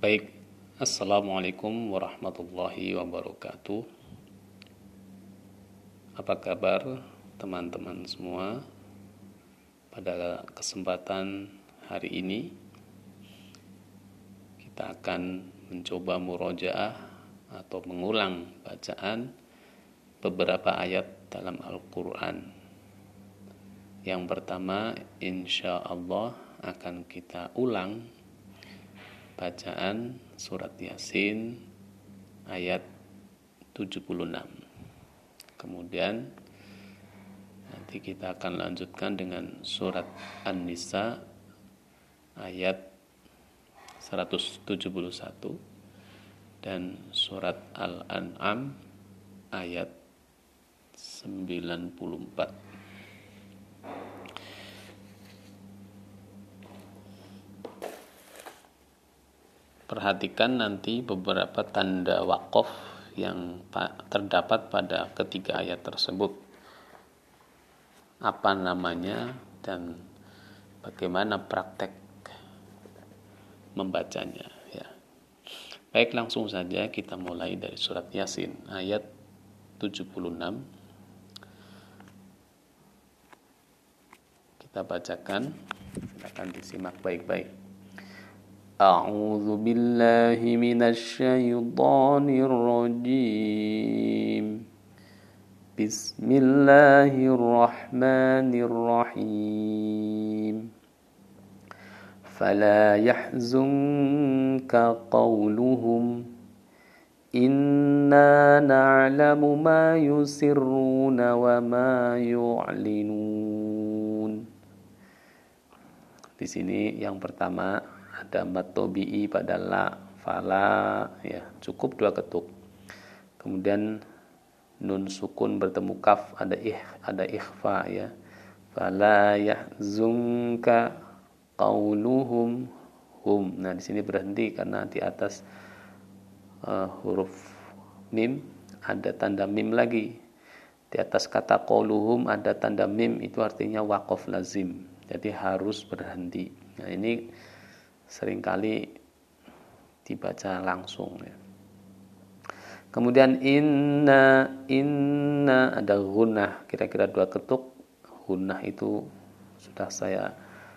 Baik, Assalamualaikum warahmatullahi wabarakatuh. Apa kabar teman-teman semua? Pada kesempatan hari ini kita akan mencoba murojaah atau mengulang bacaan beberapa ayat dalam Al-Quran. Yang pertama, insya Allah akan kita ulang bacaan surat Yasin ayat 76. Kemudian nanti kita akan lanjutkan dengan surat An-Nisa ayat 171 dan surat Al-An'am ayat 94. Perhatikan nanti beberapa tanda waqaf yang terdapat pada ketiga ayat tersebut. Apa namanya dan bagaimana praktek membacanya ya. Baik, langsung saja kita mulai dari surat Yasin ayat 76. Kita bacakan, akan disimak baik-baik. A'udzu billahi minasy syaithanir rajim. Bismillahirrahmanirrahim. Fala yahzunka qawluhum inna na'lamu ma yusirruna wa ma yu'linun. Di sini yang pertama ada mad tabi'i pada la, fala ya, cukup 2 ketuk. Kemudian nun sukun bertemu kaf, ada ikhfa ya. Fala yahzunka qauluhum hum. Nah, di sini berhenti karena di atas huruf mim ada tanda mim lagi. Di atas kata qauluhum ada tanda mim, itu artinya waqaf lazim. Jadi harus berhenti. Nah, ini seringkali dibaca langsung ya. Kemudian inna ada gunnah, kira-kira 2 ketuk. Gunnah itu sudah saya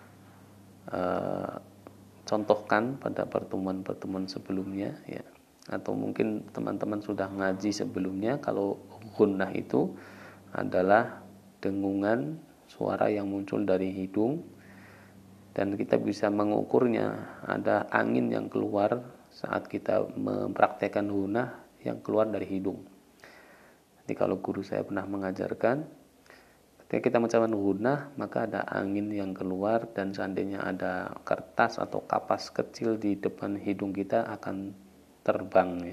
contohkan pada pertemuan-pertemuan sebelumnya ya. Atau mungkin teman-teman sudah ngaji sebelumnya, kalau gunnah itu adalah dengungan suara yang muncul dari hidung dan kita bisa mengukurnya. Ada angin yang keluar saat kita mempraktekkan gunnah yang keluar dari hidung. Jadi kalau guru saya pernah mengajarkan, ketika kita mengucapkan gunnah maka ada angin yang keluar, dan seandainya ada kertas atau kapas kecil di depan hidung kita akan terbang ya.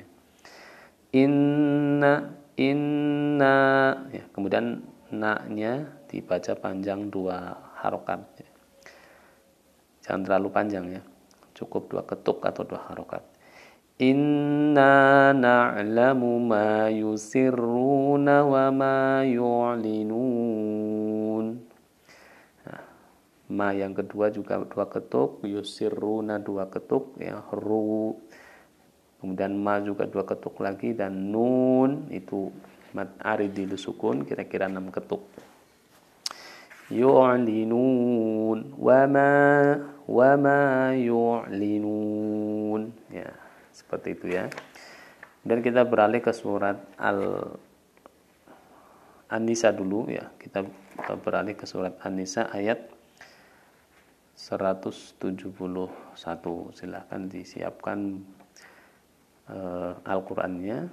Inna ya. Kemudian na-nya dibaca panjang 2 harokat ya. Jangan terlalu panjang ya, cukup 2 ketuk atau 2 harokat. Inna na'lamu ma yusirruna wa ma yu'linun. Nah, ma yang kedua juga 2 ketuk, yusirruna 2 ketuk ya, ru. Kemudian ma juga 2 ketuk lagi, dan nun itu mad aridil sukun, kira-kira 6 ketuk. Yu'linun wa ma yu'linun ya, seperti itu ya. Dan kita beralih ke surat An-Nisa dulu ya. Kita beralih ke surat An-Nisa ayat 171. Silahkan disiapkan Al-Qur'annya.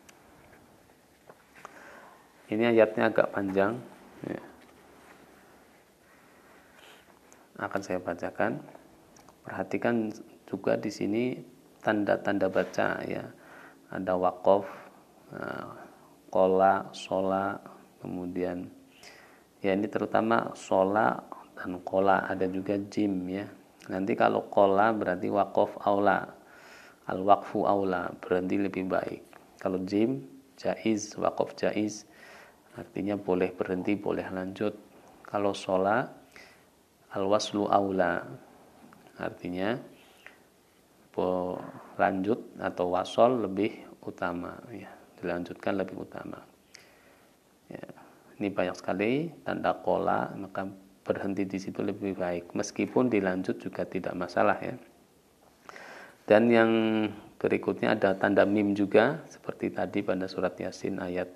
Ini ayatnya agak panjang ya. Akan saya bacakan. Perhatikan juga di sini tanda-tanda baca ya. Ada waqaf, qola, sola, kemudian ya ini terutama sola dan qola, ada juga jim ya. Nanti kalau qola berarti waqaf aula, al-waqfu aula, berhenti lebih baik. Kalau jim jaiz, waqaf jaiz, artinya boleh berhenti, boleh lanjut. Kalau sola al-waslu aula, artinya lanjut atau wasol lebih utama, ya, dilanjutkan lebih utama. Ya, ini banyak sekali tanda qola, maka berhenti di situ lebih baik. Meskipun dilanjut juga tidak masalah, ya. Dan yang berikutnya ada tanda mim juga, seperti tadi pada surat Yasin ayat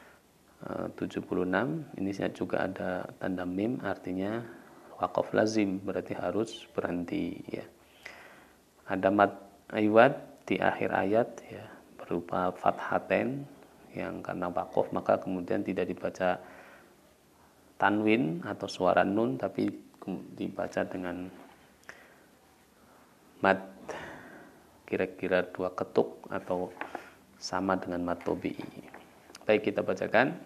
76. Ini juga ada tanda mim, artinya waqaf lazim, berarti harus berhenti, ya. Ada mad iwad di akhir ayat, ya, berupa fathaten yang karena waqaf maka kemudian tidak dibaca tanwin atau suara nun, tapi dibaca dengan mad kira-kira 2 ketuk atau sama dengan mad tabi'i. Baik, kita bacakan.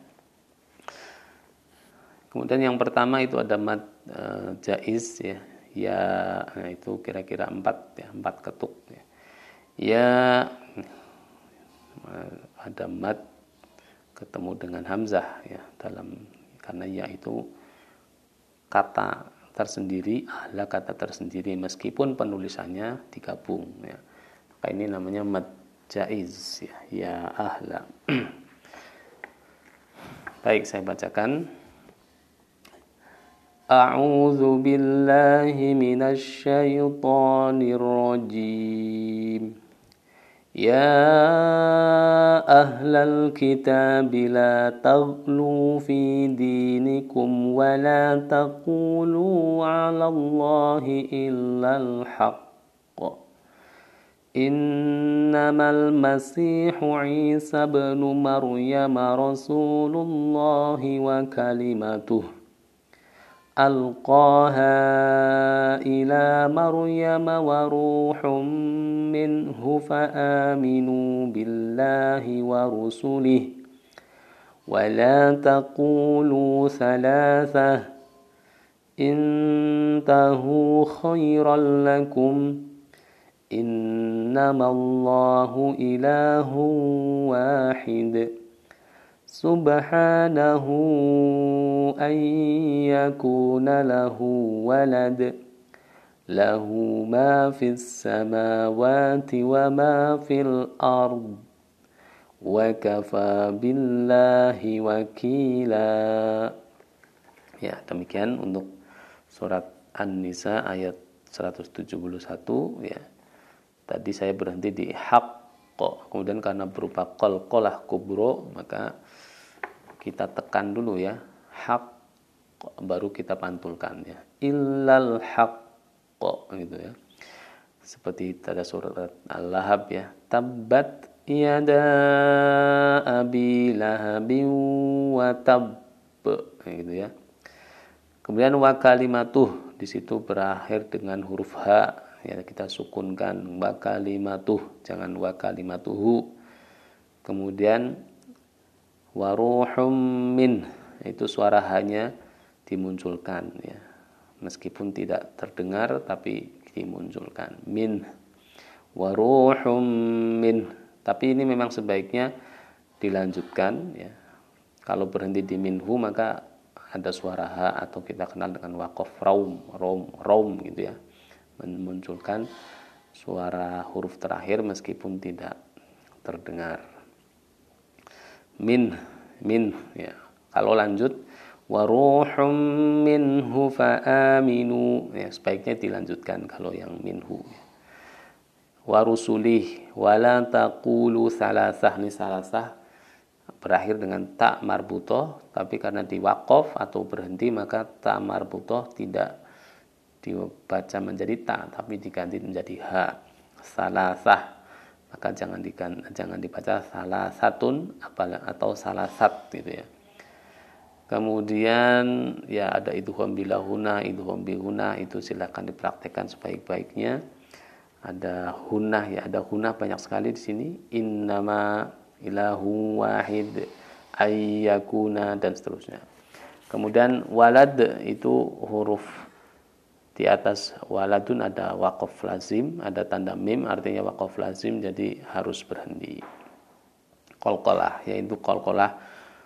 Kemudian yang pertama itu ada mad jaiz, ya. Ya, nah itu kira-kira 4, ya, 4 ketuk, ya. Ya, ada mad ketemu dengan hamzah, ya, karena ya itu kata tersendiri, ahla kata tersendiri, meskipun penulisannya digabung, ya. Maka ini namanya mad jaiz, ya, ya ahla. Baik, saya bacakan. A'udzu billahi minasy syaithanir rajim. Ya ahlal kitab la taghlu fi dinikum wa la taqulu 'ala Allahi illal haqq. Innamal masihu Isa ibnu Maryam rasulullah wa kalimatuh ألقاها إلى مريم وروح منه فآمنوا بالله ورسله ولا تقولوا ثلاثة انتهوا خيرا لكم إنما الله إله واحد Subhanahu an yakuna lahu walad lahu ma fis samawati wa ma fil ard wa kafa billahi wakila. Ya, demikian untuk surat An-Nisa ayat 171, ya. Tadi saya berhenti di haqq, kemudian karena berupa qalqalah kubro maka kita tekan dulu, ya, haq, baru kita pantulkan, ya, illal haqq, gitu, ya, seperti pada surat Al-Lahab, ya, tabbat yada abi lahabin wa tabb, gitu, ya. Kemudian wa kalimatuh, di situ berakhir dengan huruf ha, ya, kita sukunkan wa kalimatuh, jangan wa kalimatuhu. Kemudian waruhum min, itu suara hanya dimunculkan, ya, meskipun tidak terdengar tapi dimunculkan, min waruhum min, tapi ini memang sebaiknya dilanjutkan, ya. Kalau berhenti di minhu maka ada suara ha atau kita kenal dengan waqaf raum, gitu, ya, memunculkan suara huruf terakhir meskipun tidak terdengar. Min, ya. Kalau lanjut waruhum minhu fa'aminu, ya, sebaiknya dilanjutkan kalau yang minhu. Warusulih wala taqulu salasah, ini salasah berakhir dengan ta marbutoh, tapi karena diwaqaf atau berhenti maka ta marbutoh tidak dibaca menjadi ta tapi diganti menjadi ha, salasah. Maka jangan dibaca salah satun atau salah sat, gitu, ya. Kemudian, ya, ada idgham bilahuna, idgham bihuna, itu silakan dipraktekkan sebaik-baiknya. Ada hunah, ya, ada hunah banyak sekali di sini. Innama ilahu wahid ayyakuna dan seterusnya. Kemudian walad, itu huruf di atas waladun ada waqaf lazim, ada tanda mim, artinya waqaf lazim, jadi harus berhenti. Qalqalah, yaitu qalqalah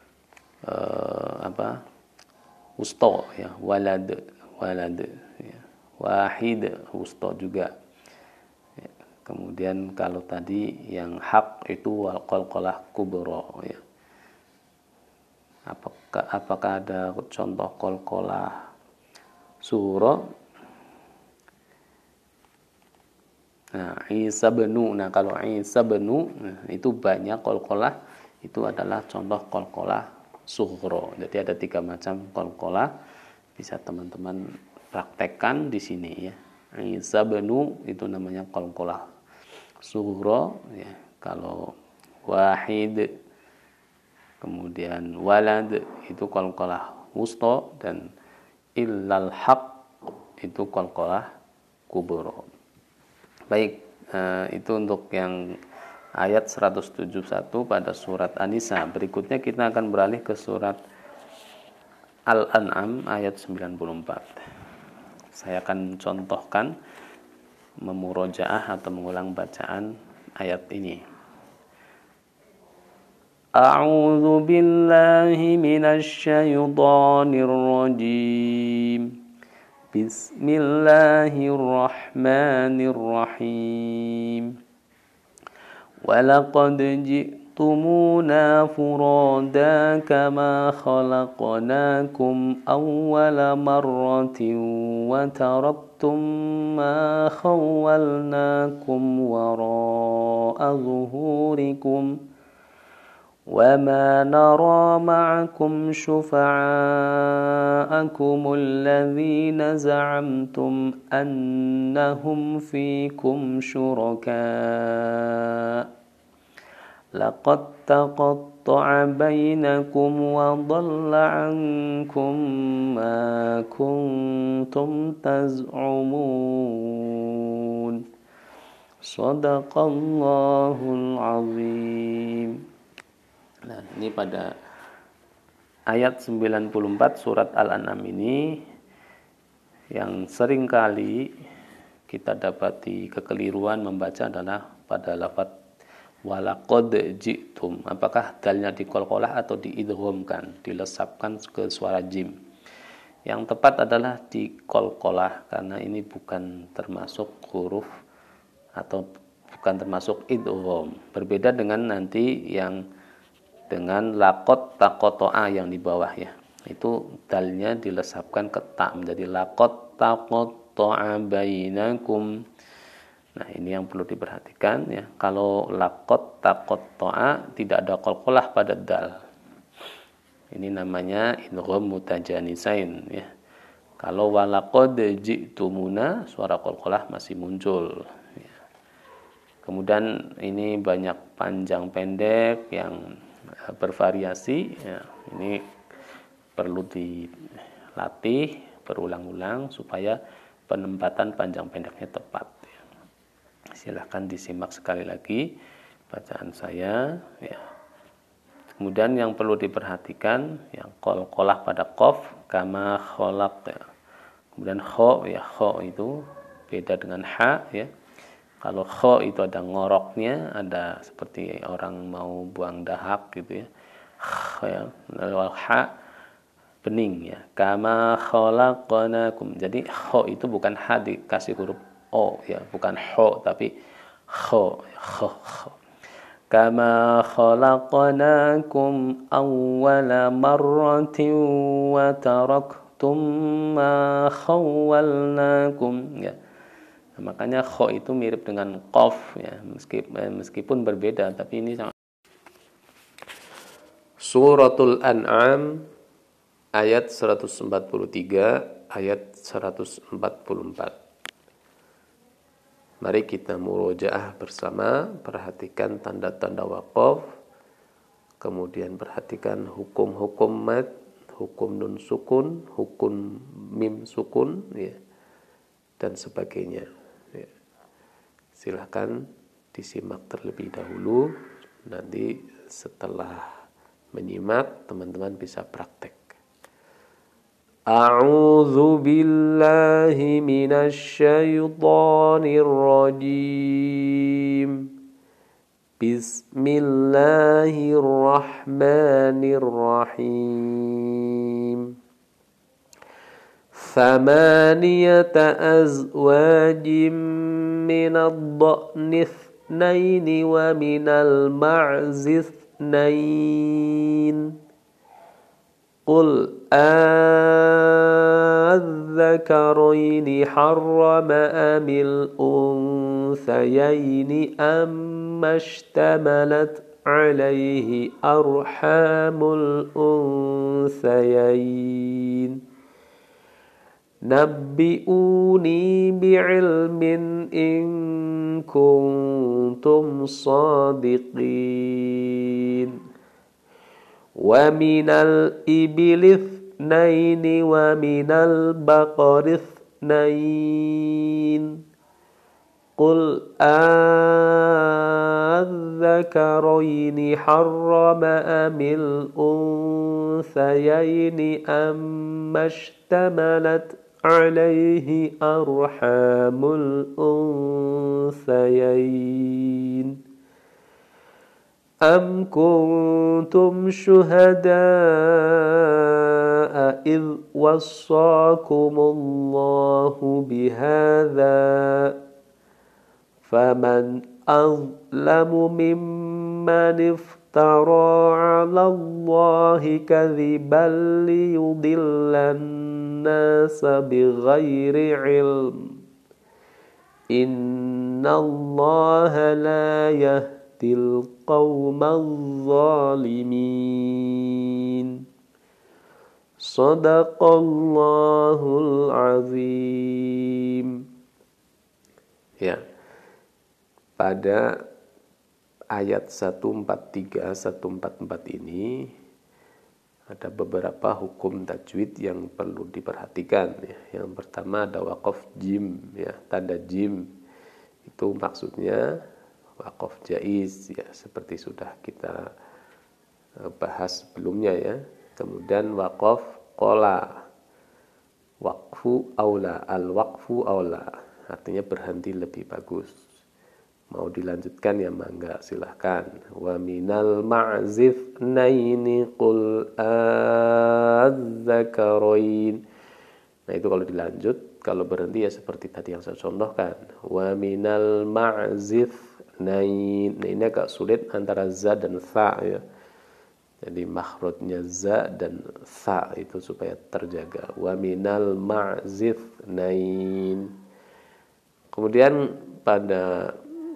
wusta, ya, walad, ya. Wahid wusta juga, ya. Kemudian kalau tadi yang hak itu wal qalqalah kubra ya. Apakah ada contoh qalqalah sughra? Nah, Isa benu. Nah, kalau Isa benu itu banyak qalqalah itu adalah contoh qalqalah sughra. Jadi ada 3 macam qalqalah, bisa teman-teman praktekkan di sini ya. Isa benu itu namanya qalqalah sughra ya. Kalau wahid, kemudian walad itu qalqalah wusta, dan illal haq itu qalqalah kubra. Baik, itu untuk yang ayat 171 pada surat An-Nisa. Berikutnya kita akan beralih ke surat Al-An'am ayat 94. Saya akan contohkan memurojaah atau mengulang bacaan ayat ini. A'udzu billahi minasy syaithanir rajim. Bismillahirrahmanirrahim. Walaqad ji'tumuna furada kama khalaqnakum awwala marratin wa taraktum ma khawwalnakum wara'a zuhurikum وَمَا نَرَى مَعَكُمْ شُفَعَاءَكُمُ الَّذِينَ زَعَمْتُمْ أَنَّهُمْ فِيكُمْ شُرَكَاءُ لَقَدْ تَقَطَّعَ بَيْنَكُمْ وَضَلَّ عَنكُمْ مَا كُنْتُمْ تَزْعُمُونَ صَدَقَ اللَّهُ الْعَظِيمُ. Nah, ini pada ayat 94 surat Al-An'am ini yang sering kali kita dapati kekeliruan membaca adalah pada lafaz walaqad ji'tum. Apakah dalnya diqalqalah atau diidghamkan, dilesapkan ke suara jim? Yang tepat adalah diqalqalah karena ini bukan termasuk huruf atau bukan termasuk idgham. Berbeda dengan nanti yang dengan laqad taqata'a yang di bawah ya. Itu dalnya dilesapkan ke ta menjadi laqad taqata'a bainakum. Nah, ini yang perlu diperhatikan ya. Kalau laqad taqata'a tidak ada qalqalah pada dal. Ini namanya idgham mutajanisain ya. Kalau walaqad ji'tumuna suara qalqalah masih muncul ya. Kemudian ini banyak panjang pendek yang bervariasi ya. Ini perlu dilatih berulang-ulang supaya penempatan panjang pendeknya tepat ya. Silahkan disimak sekali lagi bacaan saya ya. Kemudian yang perlu diperhatikan yang qalqalah pada qaf kama khalaq ya. Kemudian kha ya, kha itu beda dengan ha ya. Kalau kha itu ada ngoroknya, ada seperti orang mau buang dahak gitu ya. Ya. Lalu ha bening ya. Kama khalaqnakum. Jadi kha itu bukan ha dikasih huruf o ya, bukan ho tapi kha. Kama khalaqnakum awwala marratin wa taraktum ma khawwalnakum ya. Nah, makanya kha itu mirip dengan qaf ya, meskipun berbeda tapi ini sama. Suratul An'am ayat 143 ayat 144. Mari kita murojaah bersama, perhatikan tanda-tanda waqaf, kemudian perhatikan hukum-hukum mad, hukum nun sukun, hukum mim sukun ya, dan sebagainya. Silahkan disimak terlebih dahulu, nanti setelah menyimak teman-teman bisa praktek. A'udzu billahi minasy syaithanir rajim. Bismillahirrahmanirrahim. ثمانية أزواج من الضأن اثنين ومن المعز اثنين قل أذكرين حرم أم الأنثيين أما اشتملت عليه أرحام الأنثيين نبئوني بعلم إن كنتم صادقين ومن الإبل اثنين ومن البقر اثنين قل أذكرين حرم أم الأنثيين أما اشتملت عليه أرحام الأنثيين أم كنتم شهداء إذ وصاكم الله بهذا فمن أظلم ممن افترى على الله كذبا ليضل الناس بغير علم إن الله لا يهدي القوم الظالمين صدق الله العظيم. Ya, pada ayat 143, 144 ini ada beberapa hukum tajwid yang perlu diperhatikan ya. Yang pertama ada waqaf jim ya, tanda jim itu maksudnya waqaf jaiz ya, seperti sudah kita bahas sebelumnya ya. Kemudian waqaf qola, waqfu aula, al-waqfu aula artinya berhenti lebih bagus. Mau dilanjutkan ya mangga silahkan. Wa minal ma'zif naini qul az-zakarain. Nah itu kalau dilanjut, kalau berhenti ya seperti tadi yang saya contohkan. Wa minal ma'zif nain. Nah ini agak sulit antara za dan tha ya. Jadi makhrajnya za dan tha itu supaya terjaga. Wa minal ma'zif nain. Kemudian pada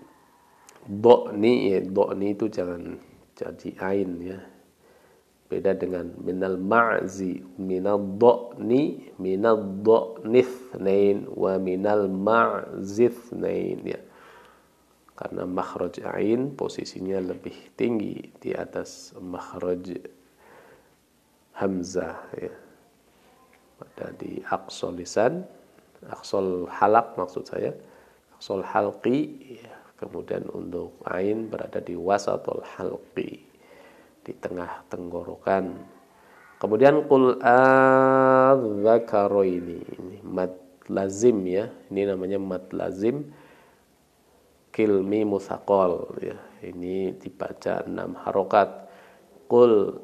do'ni ya, do'ni itu jangan jadi ain ya. Beda dengan minal ma'zi, minal do'ni, minal do'nithnain wa minal ma'zithnain ya. Karena makhraj ain posisinya lebih tinggi di atas makhraj hamzah ya. Pada di aqsal lisan, aqsal halaq maksud saya, aqsal halqi ya. Kemudian untuk ain berada di wasatul halqi, di tengah tenggorokan. Kemudian qul adzakaraini, ini mad lazim ya. Ini namanya mad lazim kilmi musaqal ya. Ini dibaca 6 harokat. Qul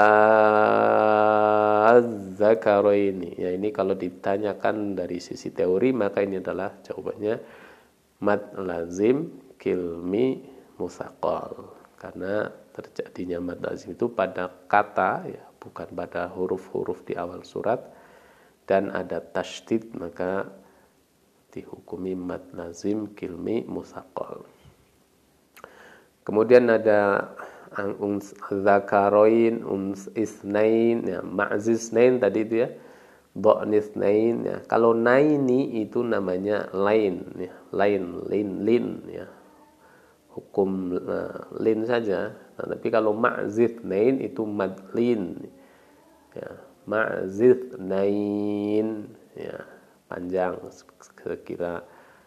adzakaraini. Ya ini kalau ditanyakan dari sisi teori maka ini adalah jawabannya mad lazim kilmi musaqal, karena terjadinya mad lazim itu pada kata ya, bukan pada huruf-huruf di awal surat, dan ada tasydid maka dihukumi mad lazim kilmi musaqal. Kemudian ada zakaroin, isnain ya, ma'zisnain tadi itu ya, do'nisnain ya. Kalau naini itu namanya lain ya, lain lin ya. Hukum lin saja. Nah, tapi kalau ma'zithnain itu madlin ya, ma'zithnain ya, panjang sekira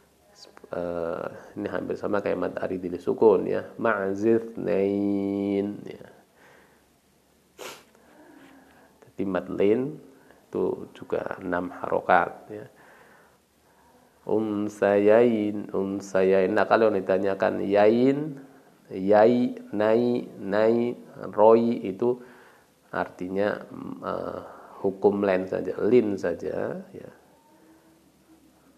ini hampir sama kayak mad aridil sukun ya, ma'zithnain ya. Jadi madlin itu juga 6 harokat ya. Unsayain. Nah kalau ditanyakan yain, yai, nai, roi itu artinya hukum lin saja ya.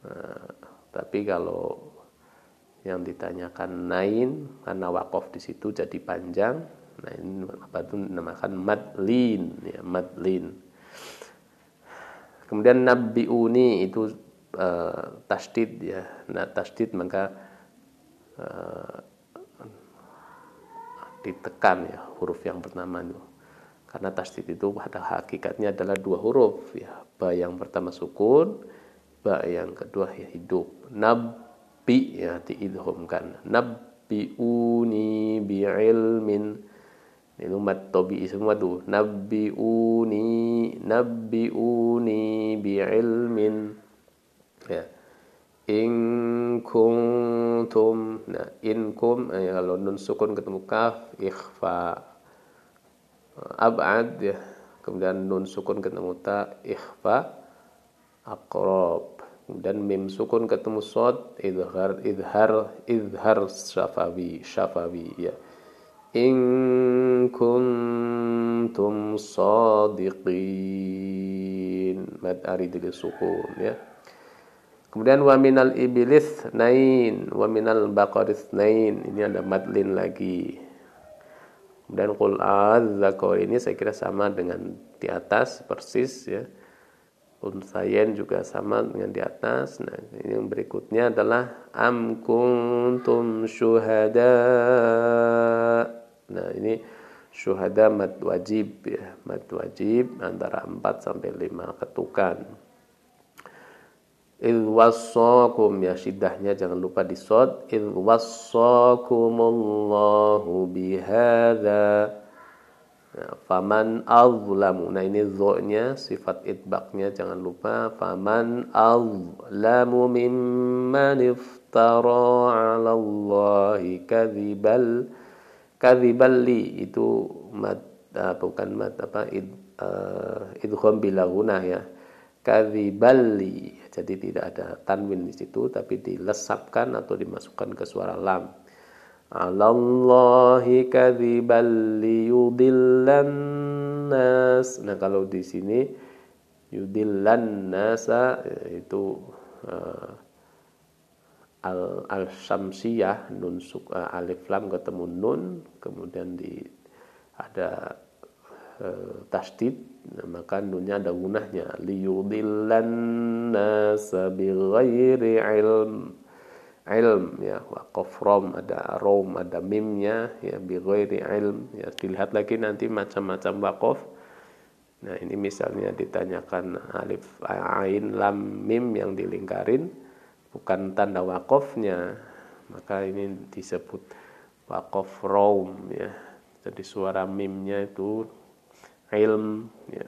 Nah, tapi kalau yang ditanyakan nain karena wakof di situ jadi panjang, nah ini apa itu dinamakan madlin ya, madlin. Kemudian nabbiuni itu tasdid ya. Nah, tasdid maka ditekan ya huruf yang pertama itu. Karena tasdid itu pada hakikatnya adalah dua huruf ya. Ba yang pertama sukun, ba yang kedua ya hidup. Nabbi ya diidghamkan. Nabbiuni bi'ilmin. Ini mat tabi'i semua tuh. Nabbiuni bi'ilmin. Ya. In kuntum. Nah, in kum kalau nun sukun ketemu kaf ikhfa. Ab'ad ya. Kemudian nun sukun ketemu ta ikhfa aqrab. Kemudian mim sukun ketemu shad idhar syafawi ya. In kuntum shadiqin. Mad aridil sukun ya. Kemudian wa minal iblis nain, wa minal baqaris nain. Ini ada madlin lagi. Kemudian qul az-zakar ini saya kira sama dengan di atas persis ya. Unsayen juga sama dengan di atas. Nah, ini yang berikutnya adalah am kuntum syuhada. Nah, ini syuhada mad wajib ya. Mad wajib antara 4 sampai 5 ketukan. Idh wassakum ya, shiddahnya jangan lupa di shad. Idh wassakumullahu bihadza. Nah, faman azlamu. Nah, ini dho-nya sifat itbaqnya jangan lupa. Faman azlamu mimman iftara 'ala Allahi kadzibali itu mad bukan mad apa idgham bila gunah ya. Kadzibali. Jadi tidak ada tanwin di situ tapi dilesapkan atau dimasukkan ke suara lam. 'Alallahi kadzibal liyudillan nas. Nah, kalau di sini yudillan nasa itu al-syamsiyah nun alif lam ketemu nun kemudian ada tasdid, maka nunnya ada gunahnya liyudillan nasa bighairi ilm ya, waqaf rom ada mimnya ya, bighairi ilm ya, dilihat lagi nanti macam-macam waqaf. Nah, ini misalnya ditanyakan alif ain lam mim yang dilingkarin bukan tanda waqafnya, maka ini disebut waqaf rom ya. Jadi suara mimnya itu ilm ya.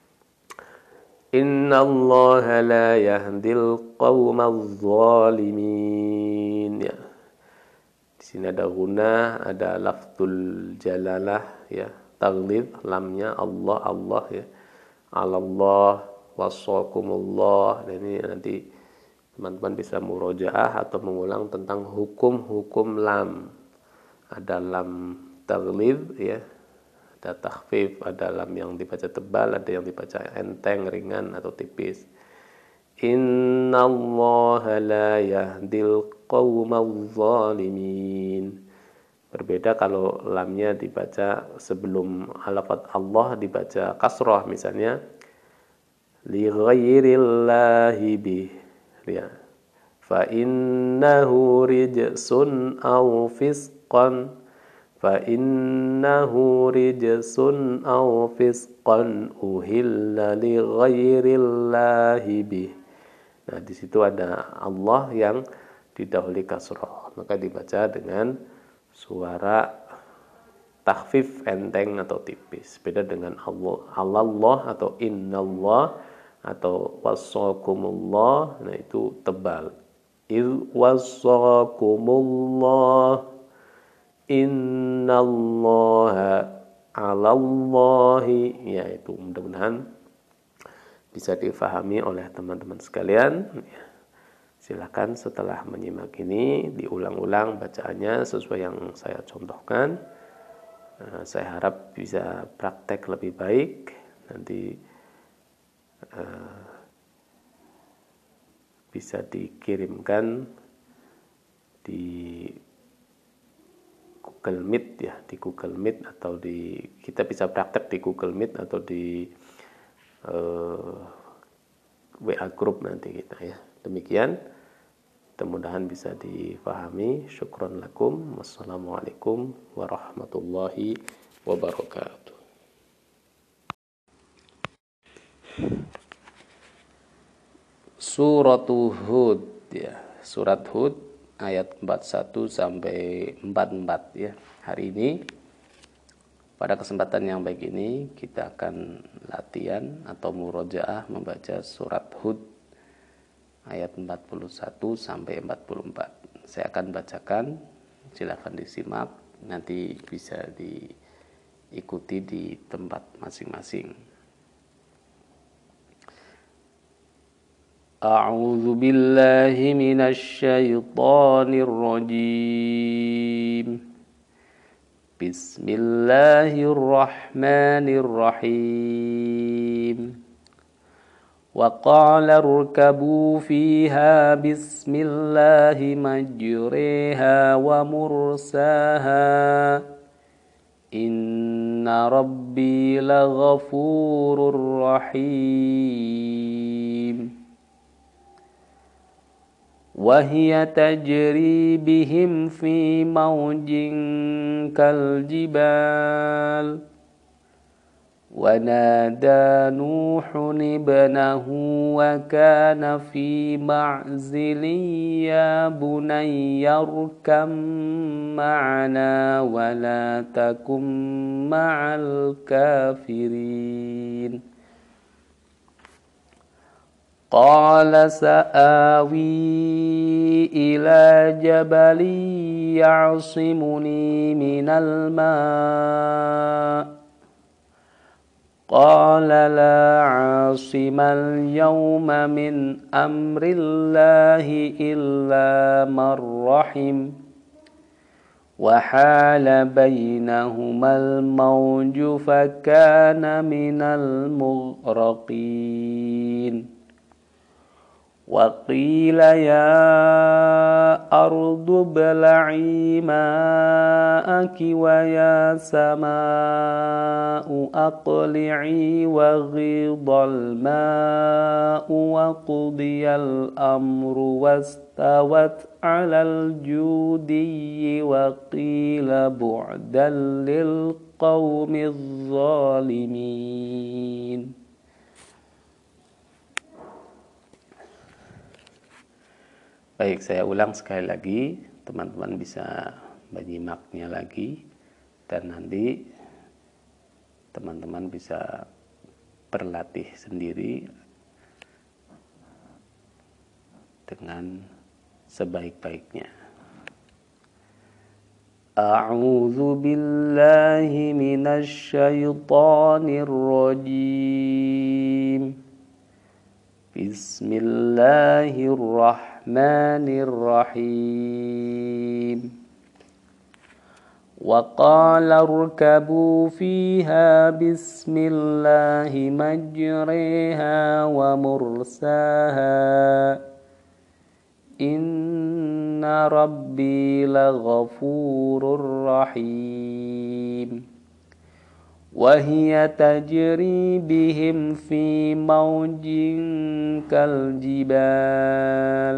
Innallaha la yahdil qaumadz zalimin ya. Di sini ada guna, ada lafzul jalalah ya, taghlid lamnya Allah ya. Alallah wasaqumullah. Dan ini nanti teman-teman bisa murojaah atau mengulang tentang hukum-hukum lam. Ada lam taghlid ya, ada takhfif, ada lam yang dibaca tebal, ada yang dibaca enteng, ringan atau tipis. Innallaha la yahdil qaumadz zalimin. Berbeda kalau lamnya dibaca sebelum lafaz Allah dibaca kasrah, misalnya li ghairillahi bih ya. Fa innahu rijsun aw fisqan. Fa innahu rijsun aw fisqan uhilla li ghairillahi bih. Nah, di situ ada Allah yang didahului kasrah, maka dibaca dengan suara takhfif enteng atau tipis. Beda dengan Allah atau innallah atau wasakumullah, nah itu tebal. Il wasakumullah innallaha 'alallahi, ya itu mudah-mudahan bisa difahami oleh teman-teman sekalian. Silakan setelah menyimak ini diulang-ulang bacaannya sesuai yang saya contohkan. Saya harap bisa praktek lebih baik, nanti bisa dikirimkan di Google Meet ya, di Google Meet atau kita bisa praktek di Google Meet atau di WA group nanti kita ya. Demikian, mudah-mudahan bisa difahami. Syukron lakum. Wassalamualaikum warahmatullahi wabarakatuh. Surat Hud ya, surat Hud ayat 41 sampai 44 ya. Hari ini pada kesempatan yang baik ini kita akan latihan atau murojaah membaca surat Hud ayat 41 sampai 44. Saya akan bacakan, silakan disimak, nanti bisa diikuti di tempat masing-masing. A'udzu billahi minasy syaithanir rajim. Bismillahirrahmanirrahim. Wa qala irkabu fiha bismillahi majriha wa mursaha. Inna rabbi laghafurur rahim. وهي تجري بهم في موج كالجبال ونادى نوح ابنه وكان في معزل يا بني اركب معنا ولا تكن مع الكافرين قال سآوي إلى جبل يعصمني من الماء قال لا عاصم اليوم من أمر الله إلا من رحم وحال بينهما الموج فكان من المغرقين وقيل يا أرض ابلعي ماءك ويا سماء أقلعي وغيض الماء وقضي الأمر واستوت على الجودي وقيل بعدا للقوم الظالمين. Baik, saya ulang sekali lagi, teman-teman bisa menyimaknya lagi dan nanti teman-teman bisa berlatih sendiri dengan sebaik-baiknya. A'udzu billahi minasy syaithanir rajim. Bismillahirrahmanirrahim. Wa qala irkabu fiha bismillahi majriha wa mursaha. Inna rabbi laghafurur rahim. وهي تجري بهم في موج كالجبال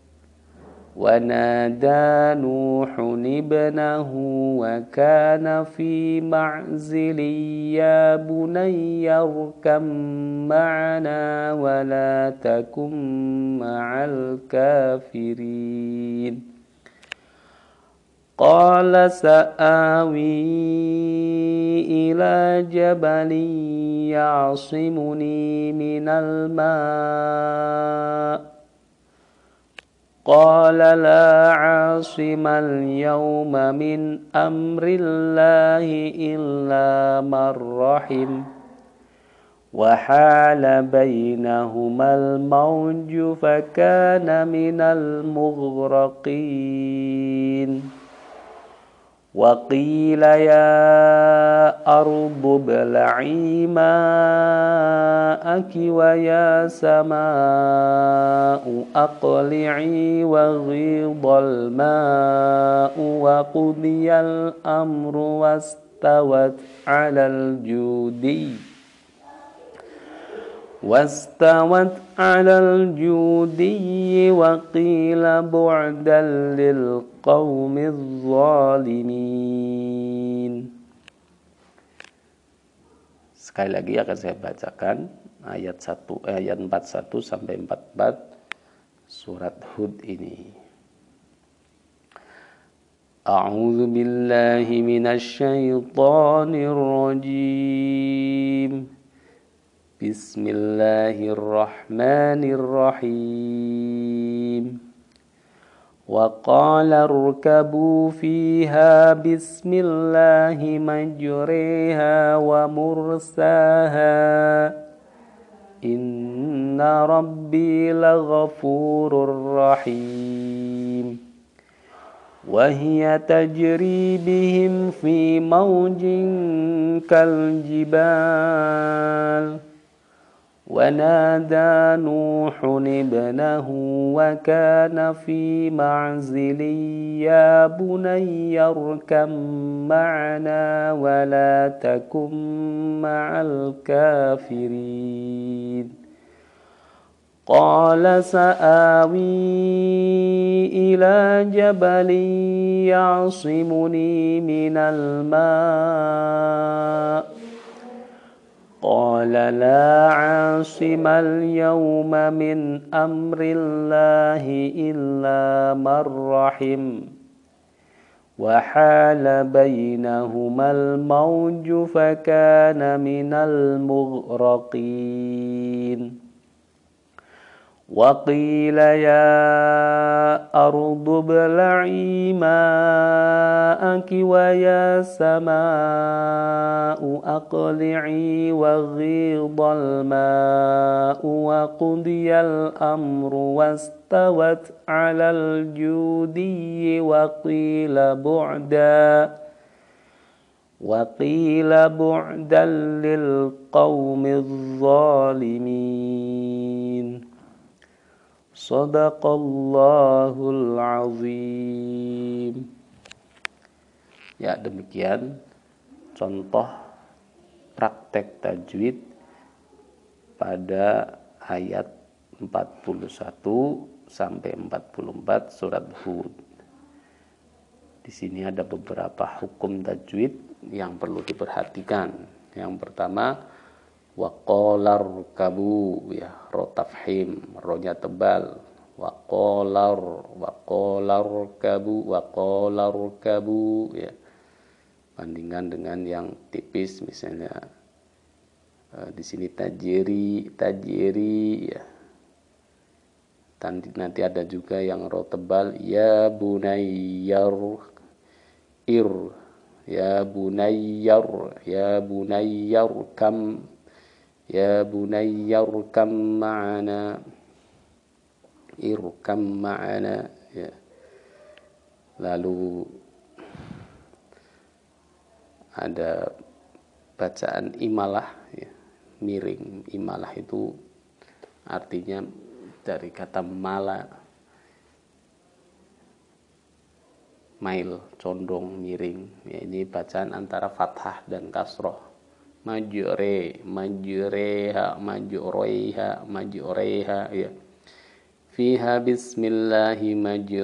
ونادى نوح ابنه وكان في معزل يا بني اركب معنا ولا تكن مع الكافرين قال سآوي إلى جبل يعصمني من الماء قال لا عاصم اليوم من أمر الله إلا من رحم وحال بينهما الموج فكان من المغرقين وقيل يا أرض ابلعي ماءك ويا سماء أقلعي وغيض الماء وقضي الأمر واستوت على الجودي وقيل بعدا للقوم الظالمين. Sekali lagi akan saya bacakan ayat 41 sampai 44 surat Hud ini. A'udzu billahi minasy syaithanir rajim. Bismillahirrahmanirrahim. Wa qala irkabu fiha bismillahi majriha wa mursaha inna rabbi laghafurur rahim. Wa hiya tajri bihim fi mawjin kal jibal. ونادى نوح ابنه وكان في معزل يا بني اركب معنا ولا تكن مع الكافرين قال سآوي إلى جبل يعصمني من الماء قال لا عاصم اليوم من أمر الله إلا من رحم وحال بينهما الموج فكان من المغرقين وقيل يا أرض ابلعي ماءك ويا سماء أقلعي وغيض الماء وقضي الأمر واستوت على الجودي وقيل بعدا للقوم الظالمين. Sadaqallahul azim. Ya, demikian contoh praktek tajwid pada ayat 41 sampai 44 surat Hud. Di sini ada beberapa hukum tajwid yang perlu diperhatikan. Yang pertama, waqalar kabu, ya, ro tafhim, ronya tebal. Waqalar kabu, ya. Bandingkan dengan yang tipis, misalnya di sini tajiri, ya. Nanti ada juga yang ro tebal, ya bunayyar ir, ya bunayyar kam. Ya bunayya irkam ma'ana, ya. Lalu ada bacaan imalah, ya, miring. Imalah itu artinya dari kata mala, mail, condong, miring, ya. Ini bacaan antara fathah dan kasroh. Majreha, ya. Fiha bismillahi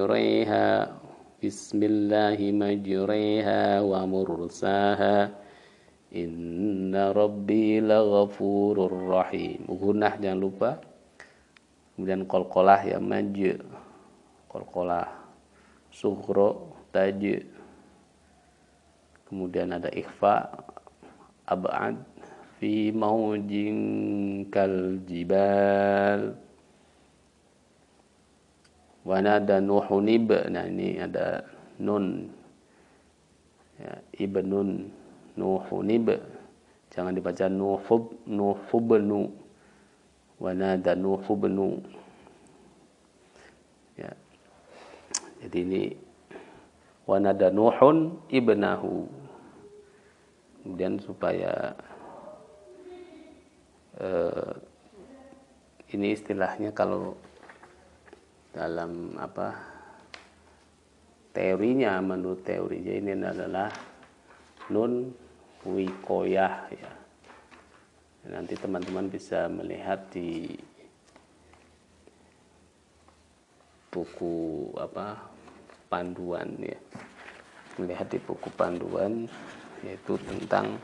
majreha wa mursaha inna rabbi laghafurur rahim. Gunnah jangan lupa. Kemudian qalqalah, ya, qalqalah sughra, taj. Kemudian ada ikhfa, ab'ad, fi maujin kal jibal. Wa nada Nuhun nah ini ada nun, ya, ibnun, Nuhun, jangan dibaca nuhubnu. Wa nada Nuhubnu, ya. Jadi ini wa nada Nuhun ibnahu. Kemudian supaya ini istilahnya kalau dalam teorinya, menurut teorinya ini adalah nun wikoyah ya. Nanti teman-teman bisa melihat di buku panduan ya, melihat di buku panduan yaitu tentang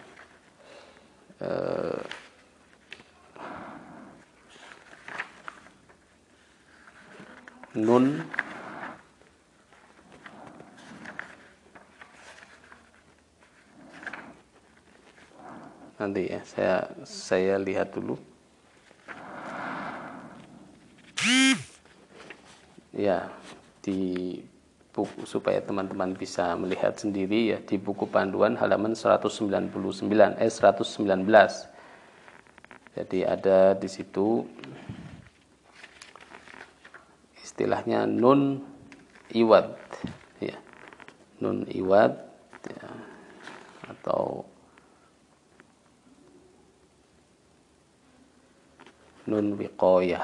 nun nanti ya, saya lihat dulu ya di buku supaya teman-teman bisa melihat sendiri ya, di buku panduan halaman 119. Jadi ada di situ istilahnya nun iwad ya, nun iwad ya, atau nun wiqayah.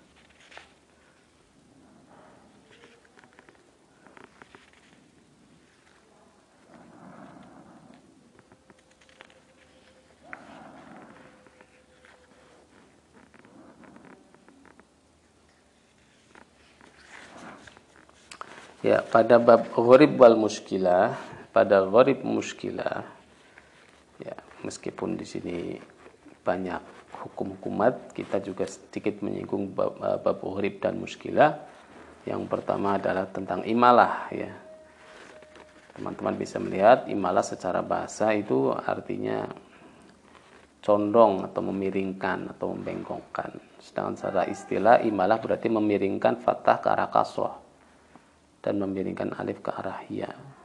Ya, pada bab gharib wal muskilah, pada gharib muskilah ya, meskipun di sini banyak hukum-hukumat, kita juga sedikit menyinggung bab gharib dan muskilah. Yang pertama adalah tentang imalah ya. Teman-teman bisa melihat imalah secara bahasa itu artinya condong atau memiringkan atau membengkokkan. Sedangkan secara istilah imalah berarti memiringkan fathah ke arah kasrah dan memiringkan alif ke arah ya.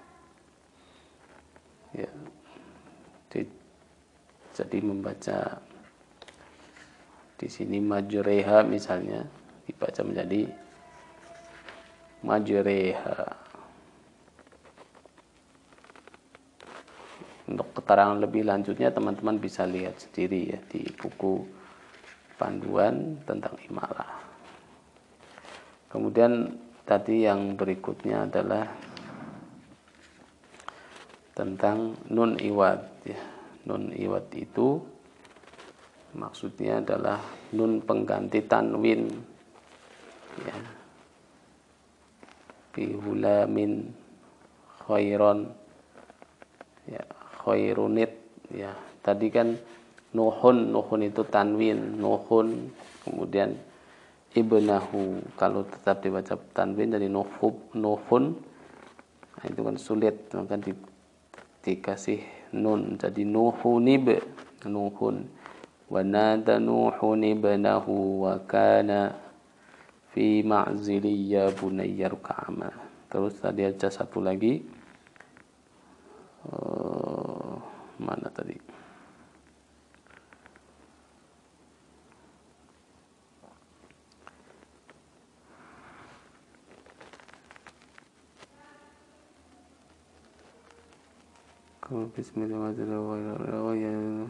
Ya. Jadi membaca di sini majreha misalnya dibaca menjadi majreha. Untuk keterangan lebih lanjutnya teman-teman bisa lihat sendiri ya di buku panduan tentang imalah. Kemudian tadi yang berikutnya adalah tentang nun iwad ya. Nun iwad itu maksudnya adalah nun pengganti tanwin ya. Fi hulamin khairon ya, khairunit ya. Tadi kan nuhun itu tanwin, nuhun, kemudian ibnahu kalau tetap dibaca tanwin dari nuhun, nah itu kan sulit, maka dikasih nun jadi nuhunib, nuhun. Wa nada nuhun ibnahu wa kana fi ma'zili ya bunayya ruk'ama. Terus tadi ada satu lagi mana tadi? Bismillahirrahmanirrahim.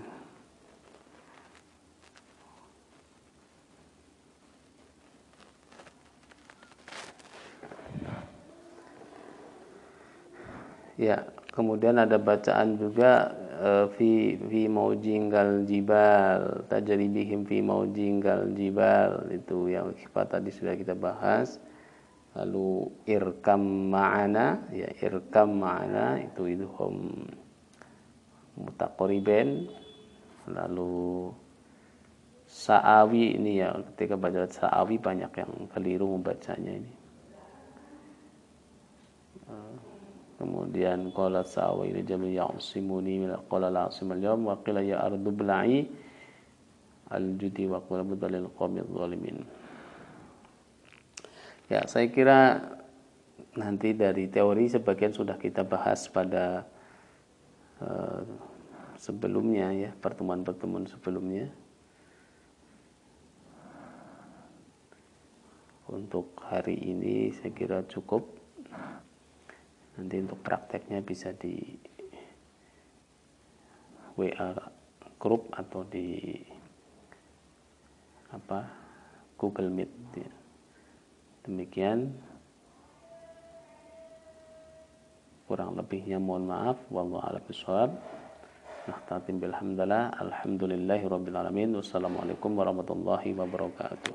Ya, kemudian ada bacaan juga fi maujingal jibal, tajri bihim fi maujingal jibal, itu yang tadi sudah kita bahas. Lalu irkam ma'ana, ya irkam ma'ana itu idgham mutaqaribain. Lalu sa'awi ini ya, ketika baca sa'awi banyak yang keliru membacanya ini. Kemudian qala sa'awi li jami ya'simuni min qala la'sim al-yawm wa qila ya ardu bla'i al-judi wa qala budalil qawmi zalimin. Ya, saya kira nanti dari teori sebagian sudah kita bahas pada sebelumnya ya, pertemuan-pertemuan sebelumnya. Untuk hari ini saya kira cukup. Nanti untuk prakteknya bisa di WA group atau di Google Meet. Demikian, kurang lebihnya mohon maaf. Wallahu a'lam bishawab. Nahtatim bilhamdulillah. Alhamdulillahirabbil alamin. Wassalamualaikum warahmatullahi wabarakatuh.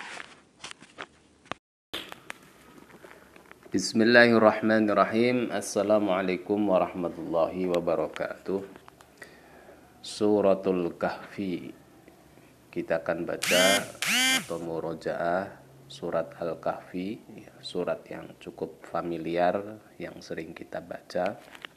Bismillahirrahmanirrahim. Assalamualaikum warahmatullahi wabarakatuh. Suratul Kahfi. Kita akan baca atau murojaah surat Al-Kahfi, surat yang cukup familiar, yang sering kita baca.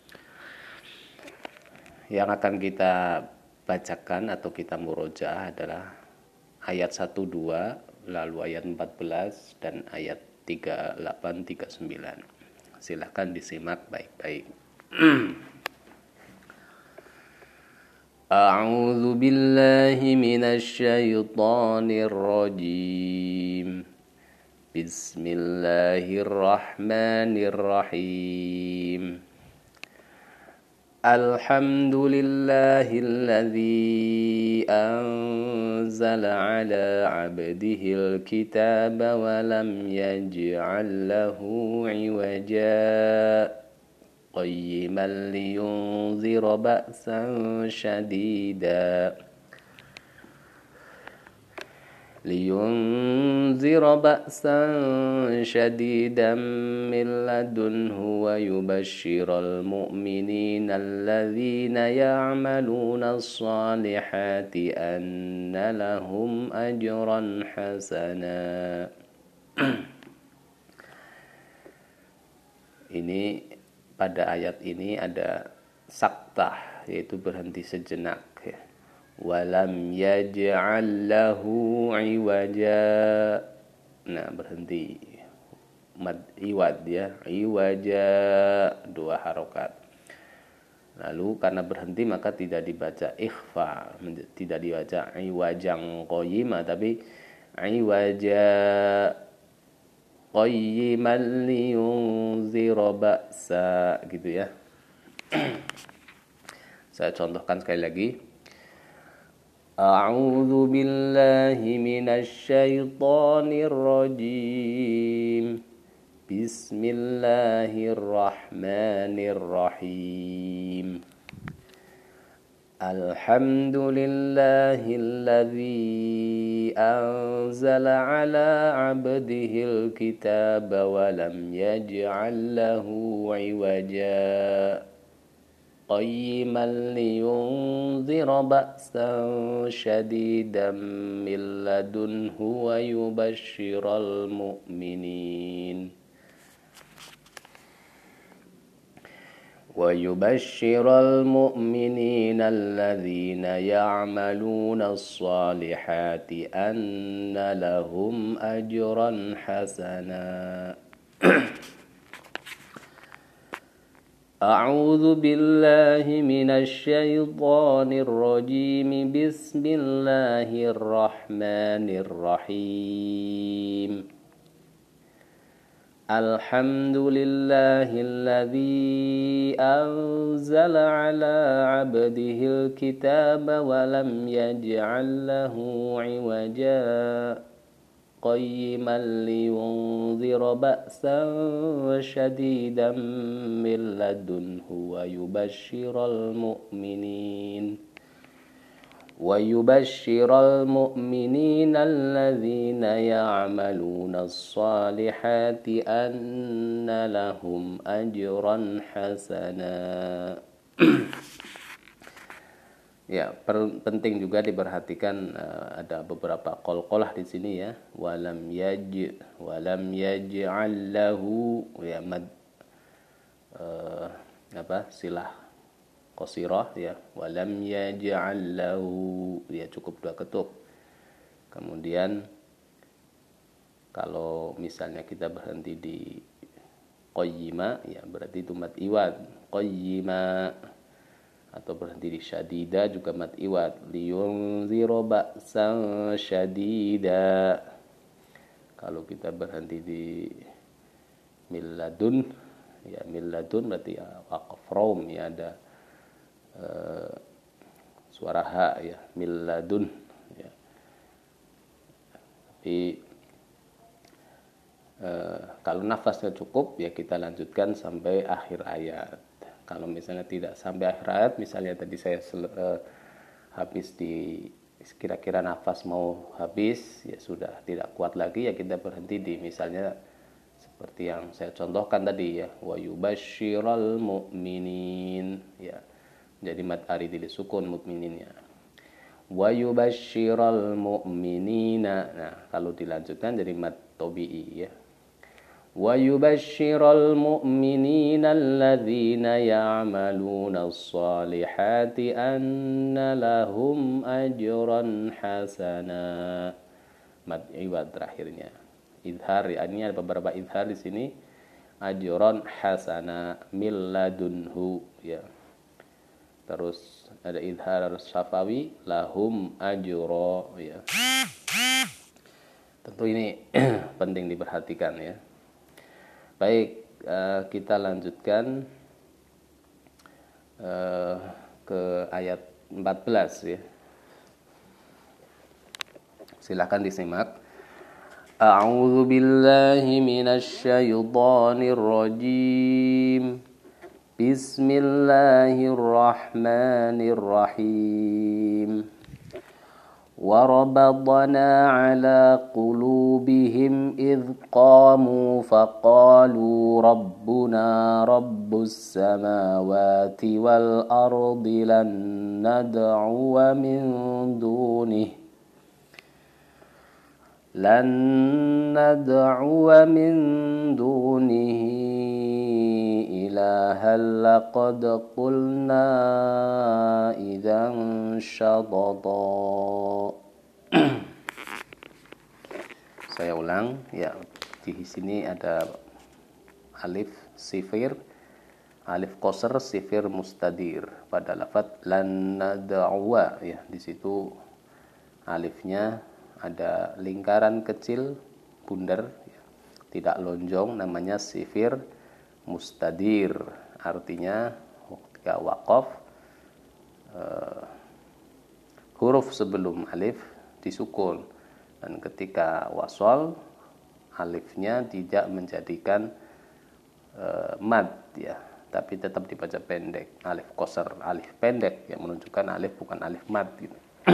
Yang akan kita bacakan atau kita murojaah adalah ayat 1-2, lalu ayat 14 dan ayat 38-39. Silahkan disimak baik-baik. A'udzu billahi minasy syaithanir rajim. Bismillahirrahmanirrahim. Alhamdulillahilladzi anzala ala 'abdihil kitaba wa lam yaj'al lahu 'iwaja qayyiman liyunzira ba'san shadida min ladunhu wa yubashshiral mu'minina alladhina ya'maluna as-salihati anna lahum ajran hasana. Ini pada ayat ini ada saktah, yaitu berhenti sejenak, ya. Walam yaj'al lahu iwaja. Nah, berhenti. Mad iwad, ya. Iwaja, 2 harokat. Lalu karena berhenti maka tidak dibaca ikhfa, tidak dibaca iwajang qayyima, tapi iwaja qayyiman liyunzira ba'sa, gitu ya. Saya contohkan sekali lagi. A'udzu billahi minasy syaithanir rajim. Bismillahirrahmanirrahim. Alhamdulillahilladzi anzala ala 'abdihil kitaba wa lam yaj'al lahu 'iwaja qayyiman liyunzira ba'san shadidan min ladunhu wa yubashshiral mu'minin alladhina ya'maluna as-salihati anna lahum ajran hasana. A'udzu billahi minasy syaithanir rajim. Bismillahirrahmanirrahim. Alhamdulillahilladzi anzala 'ala 'abdihil kitaba wa lam yaj'al lahu 'iwaja qayyiman liyunzira ba'san shadidan min ladunhu wa yubashshiral mu'minina alladhina ya'maluna as-salihati anna lahum ajran hasana. Ya, penting juga diperhatikan, ada beberapa qalqalah di sini, ya. Walam yaj'al lahu, ya, mad silah qasirah, ya. Walam yaj'al lahu, ya, cukup 2 ketuk. Kemudian kalau misalnya kita berhenti di qayyima, ya, berarti itu mad iwad, qayyima. Atau berhenti di syadida juga mad iwad, liyunzira ba'san syadida. Kalau kita berhenti di milladun, Ya milladun berarti ya waqaf rom ya, ada suara ha ya, milladun ya. Tapi kalau nafasnya cukup ya kita lanjutkan sampai akhir ayat. Kalau misalnya tidak sampai akhir ayat, misalnya tadi saya habis di kira-kira nafas mau habis, ya sudah tidak kuat lagi, ya kita berhenti di misalnya seperti yang saya contohkan tadi ya, wa yubasyiral mu'minin ya. Jadi mad aridil sukun mukmininnya. Wa yubasyiral mu'minina. Nah, kalau dilanjutkan jadi mad tabi'i ya. وَيُبَشِّرَ الْمُؤْمِنِينَ الَّذِينَ يَعْمَلُونَ الصَّالِحَاتِ أَنَّ لَهُمْ أَجْرًا حَسَنًا. Mad iwad terakhirnya. Idhar, ini ada beberapa idhar di sini. Ajron hasana milladunhu ya. Terus ada idhar syafawi lahum ajro ya. Tentu ini penting diperhatikan ya. Baik, kita lanjutkan ke ayat 14 ya. Silakan disimak. A'udzu billahi minasy syaithanir rajim. Bismillahirrahmanirrahim. وربطنا على قلوبهم إذ قاموا فقالوا ربنا رب السماوات والأرض لن ندعو من دونه إلها لقد قلنا إذا شططا. Saya ulang ya, di sini ada alif sifir, alif qasr sifir mustadir pada lafaz lan nad'uwa ya. Di situ alifnya ada lingkaran kecil bundar ya, tidak lonjong, namanya sifir mustadir. Artinya ketika waqaf huruf sebelum alif disukun, dan ketika wasol alifnya tidak menjadikan mad ya, tapi tetap dibaca pendek, alif qasr, alif pendek yang menunjukkan alif bukan alif mad gitu.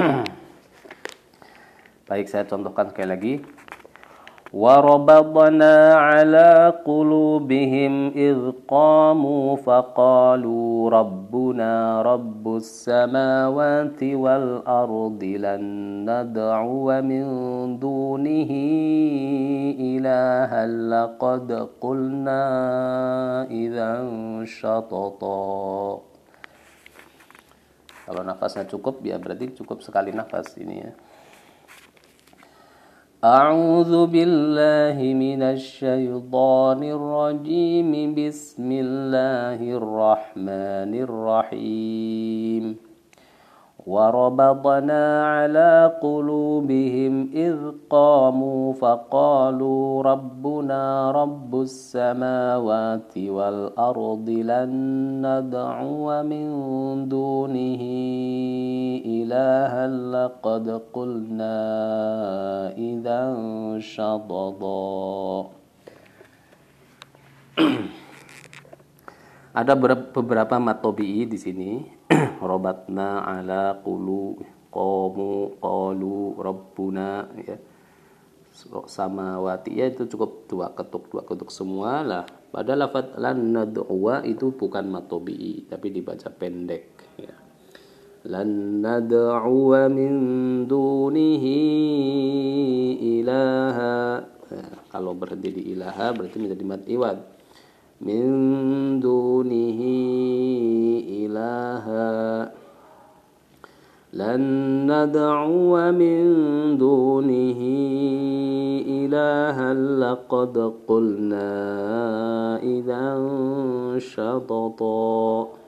Baik, saya contohkan sekali lagi. وَرَبَطْنَا عَلَى قُلُوبِهِمْ إِذْ قَامُوا فَقَالُوا رَبُّنَا رَبُّ السَّمَاوَاتِ وَالْأَرْضِ لَن نَّدْعُوَ مِن دُونِهِ إِلَٰهًا لَّقَدْ قُلْنَا إِذًا شَطَطًا. Kalau nafasnya cukup ya berarti cukup sekali nafas ini ya. أعوذ بالله من الشيطان الرجيم بسم الله الرحمن الرحيم وربطنا على قلوبهم إذ قاموا فقالوا ربنا رب السماوات والأرض لن ندعو من دونه إلها لقد قلنا إذا شططا. Ada beberapa mat tabi'i di sini. Robatna ala qulu qamu qalu rabbuna ya. Samawati ya, itu cukup dua ketuk semua lah. Pada lafaz lan nad'uwa itu bukan mat tabi'i tapi dibaca pendek ya. Lan nad'uwa min dunihi ilaha. Nah, kalau berhenti di ilaha berarti menjadi mat iwad. Min dunihi ilaha lan nad'u min dunihi ilahan laqad qulna idzan syatata.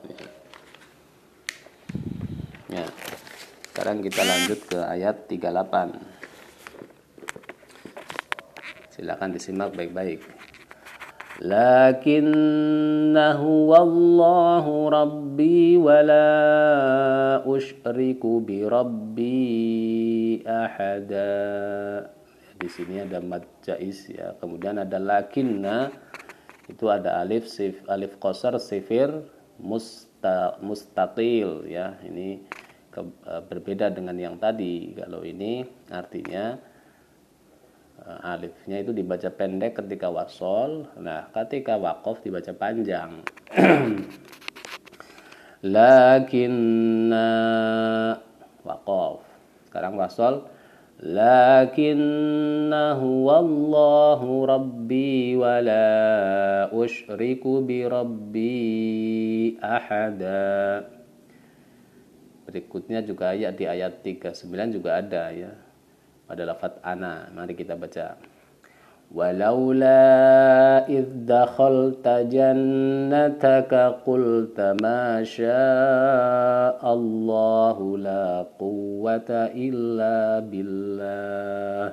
Ya. Sekarang kita lanjut ke ayat 38. Silakan disimak baik-baik. lakinnahu wallahu rabbi wa la usyriku bi rabbi ahada. Di sini ada mad jaiz ya. Kemudian ada lakinna, itu ada alif qasar sifir mustaqil ya. Ini berbeda dengan yang tadi. Kalau ini artinya alifnya itu dibaca pendek ketika wasol. Nah, ketika waqaf dibaca panjang. Lakinna waqaf. Sekarang wasol. Lakinnahu wallahu rabbi wa la usyriku bi rabbi ahada. Berikutnya juga di ayat 39 juga ada ya. Pada lafaz ana, mari kita baca. Walaula idh dakhalta jannataka qulta ma sya'allahu la quwwata illa billah.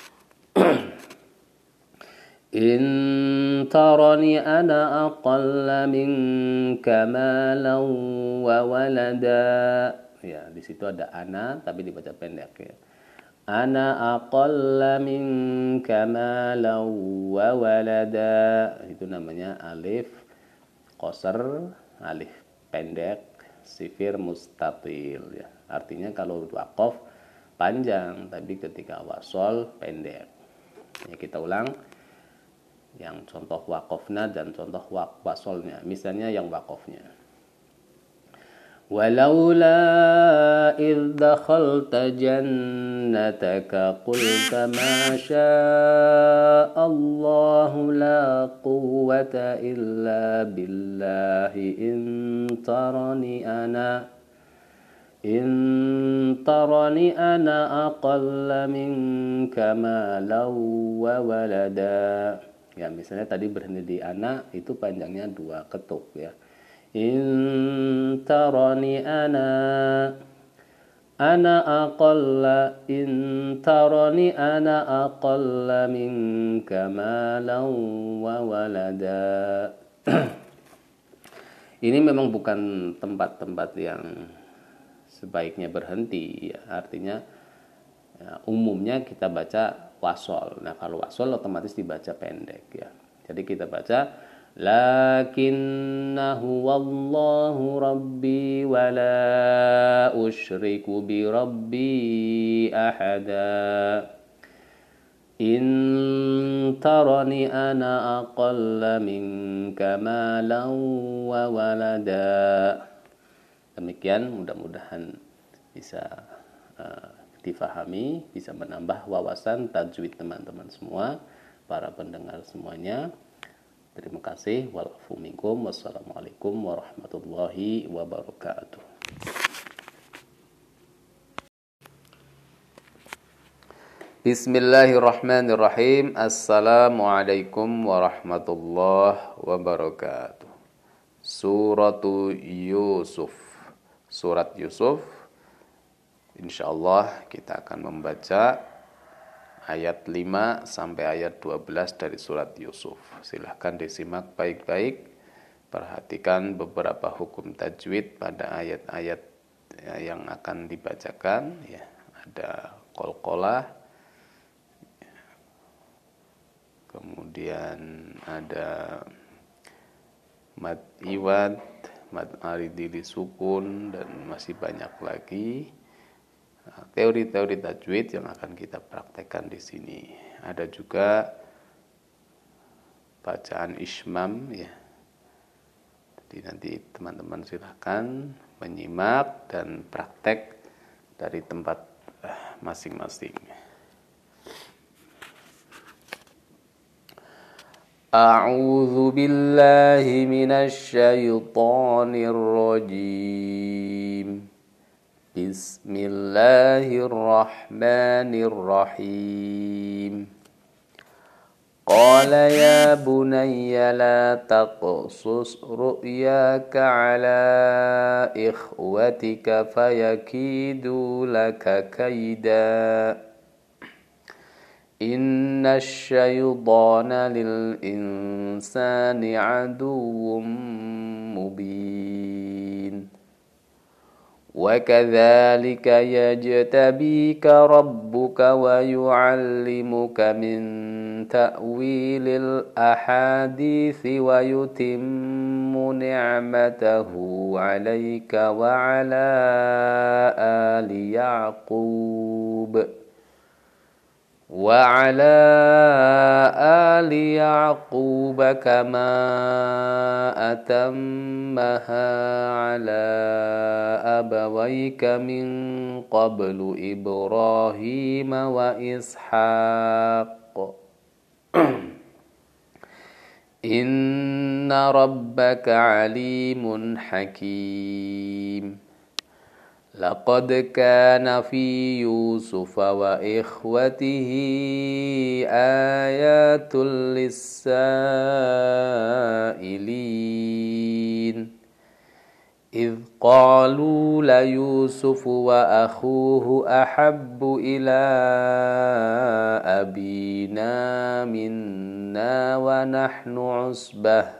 In tarani ana aqalla minka malan wa walada. Ya, di situ ada ana tapi dibaca pendek ya. Ana aqalla minka malan wa walada. Itu namanya alif qasar, alif pendek, sifir mustatil ya. Artinya kalau waqaf panjang tapi ketika wasol pendek. Ya, kita ulang yang contoh waqafna dan contoh wasolnya. Misalnya yang waqafnya. Walaula idh dakhalta jannataka qulta ma sya'allahu la quwwata illa billahi in tarani ana aqalla minka malan wa walada. Ya, misalnya tadi berhenti di ana, itu panjangnya 2 ketuk ya. In tarani ana aqalla minka malan wa walada. Ini memang bukan tempat-tempat yang sebaiknya berhenti ya. Artinya ya, umumnya kita baca wasol. Nah, kalau wasol otomatis dibaca pendek ya. Jadi kita baca lakinnahu wallahu rabbi wa la usyriku bi rabbi ahada. In tarani ana aqalla minka malan wa walada. Demikian, mudah-mudahan bisa difahami, bisa menambah wawasan tajwid teman-teman semua, para pendengar semuanya. Terima kasih. Walafu minkum. Wassalamualaikum warahmatullahi wabarakatuh. Bismillahirrahmanirrahim. Assalamualaikum warahmatullahi wabarakatuh. Suratu Yusuf. Surat Yusuf. Insyaallah kita akan membaca ayat 5 sampai ayat 12 dari surat Yusuf. Silahkan disimak baik-baik. Perhatikan beberapa hukum tajwid pada ayat-ayat yang akan dibacakan ya. Ada qalqalah, kemudian ada mad iwad, mad aridi disukun, dan masih banyak lagi teori-teori tajwid yang akan kita praktekkan di sini. Ada juga bacaan ismam ya. Jadi nanti teman-teman silakan menyimak dan praktek dari tempat masing-masing. A'udzu billahi minasy syaithanir rajim. Bismillahirrahmanirrahim. Qala ya bunayya la taqsus ru'yaka ala ikhwatika fayakidu laka kaida. Inna syaitana lil insani aduwwum mubin. Wa kadzalika yajtabika rabbuka wa yu'allimuka min ta'wilil ahadithi wa yutimmu ni'matahu 'alaika wa 'ala ali Ya'qub وعلى آل يعقوب كما أتمها على أبويك من قبل إبراهيم وإسحاق إن ربك عليم حكيم لقد كان في يوسف وإخوته آيات للسائلين إذ قالوا ليوسف وأخوه أحب إلى أبينا منا ونحن عصبة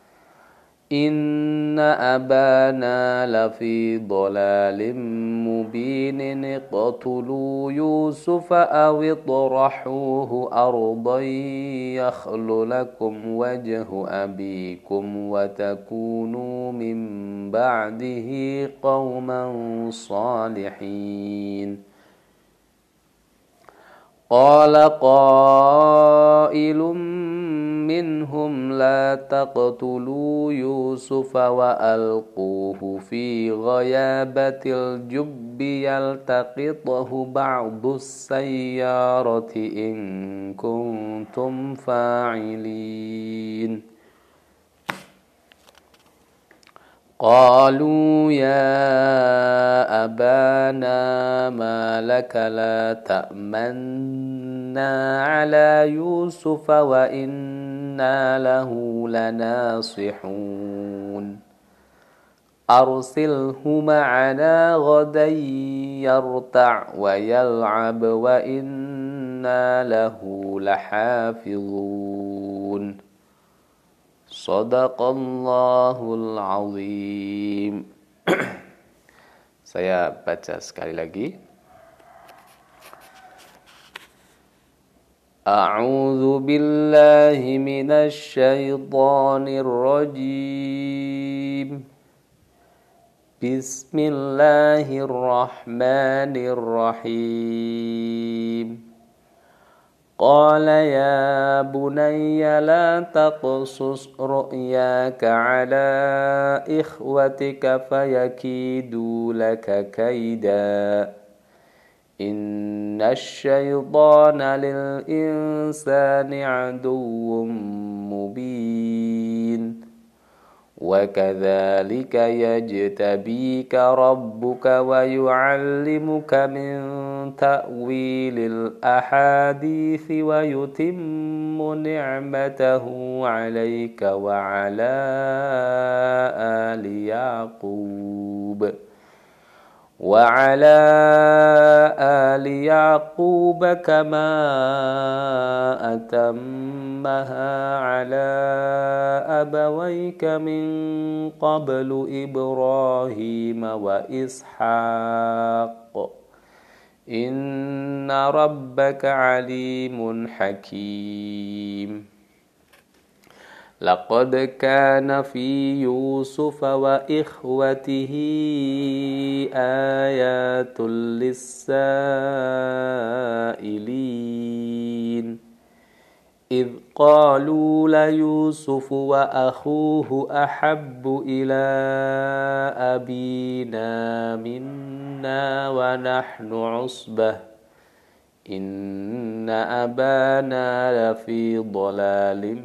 إن أبانا لفي ضلال مبين اقتلوا يوسف أو اطرحوه أرضا يخل لكم وجه أبيكم وتكونوا من بعده قوما صالحين قال قائل منهم لا تقتلوا يوسف وألقوه في غيابة الجب يلتقطه بعض السيارة إن كنتم فاعلين قالوا يا أبانا ما لك لا تأمنا على يوسف وإنا له لناصحون أرسله معنا غدا يرتع ويلعب وإنا له لحافظون Sadaqallahul azim. Saya baca sekali lagi. A'udzu billahi minasy syaithanir rajim. Bismillahirrahmanirrahim. قال يا بني لا تقصص رؤياك على إخوتك فيكيدوا لك كيدا إن الشيطان للإنسان عدو مبين وكذلك يجتبيك ربك ويعلمك من تأويل الأحاديث ويتم نعمته عليك وعلى آل يعقوب كما أتمها على أبويك من قبل إبراهيم وإسحاق إن ربك عليم حكيم لقد كان في يوسف وإخوته آيات للسائلين إذ قالوا ليوسف وأخوه أحب إلى أبينا منا ونحن عصبة إن أبانا لفي ضلال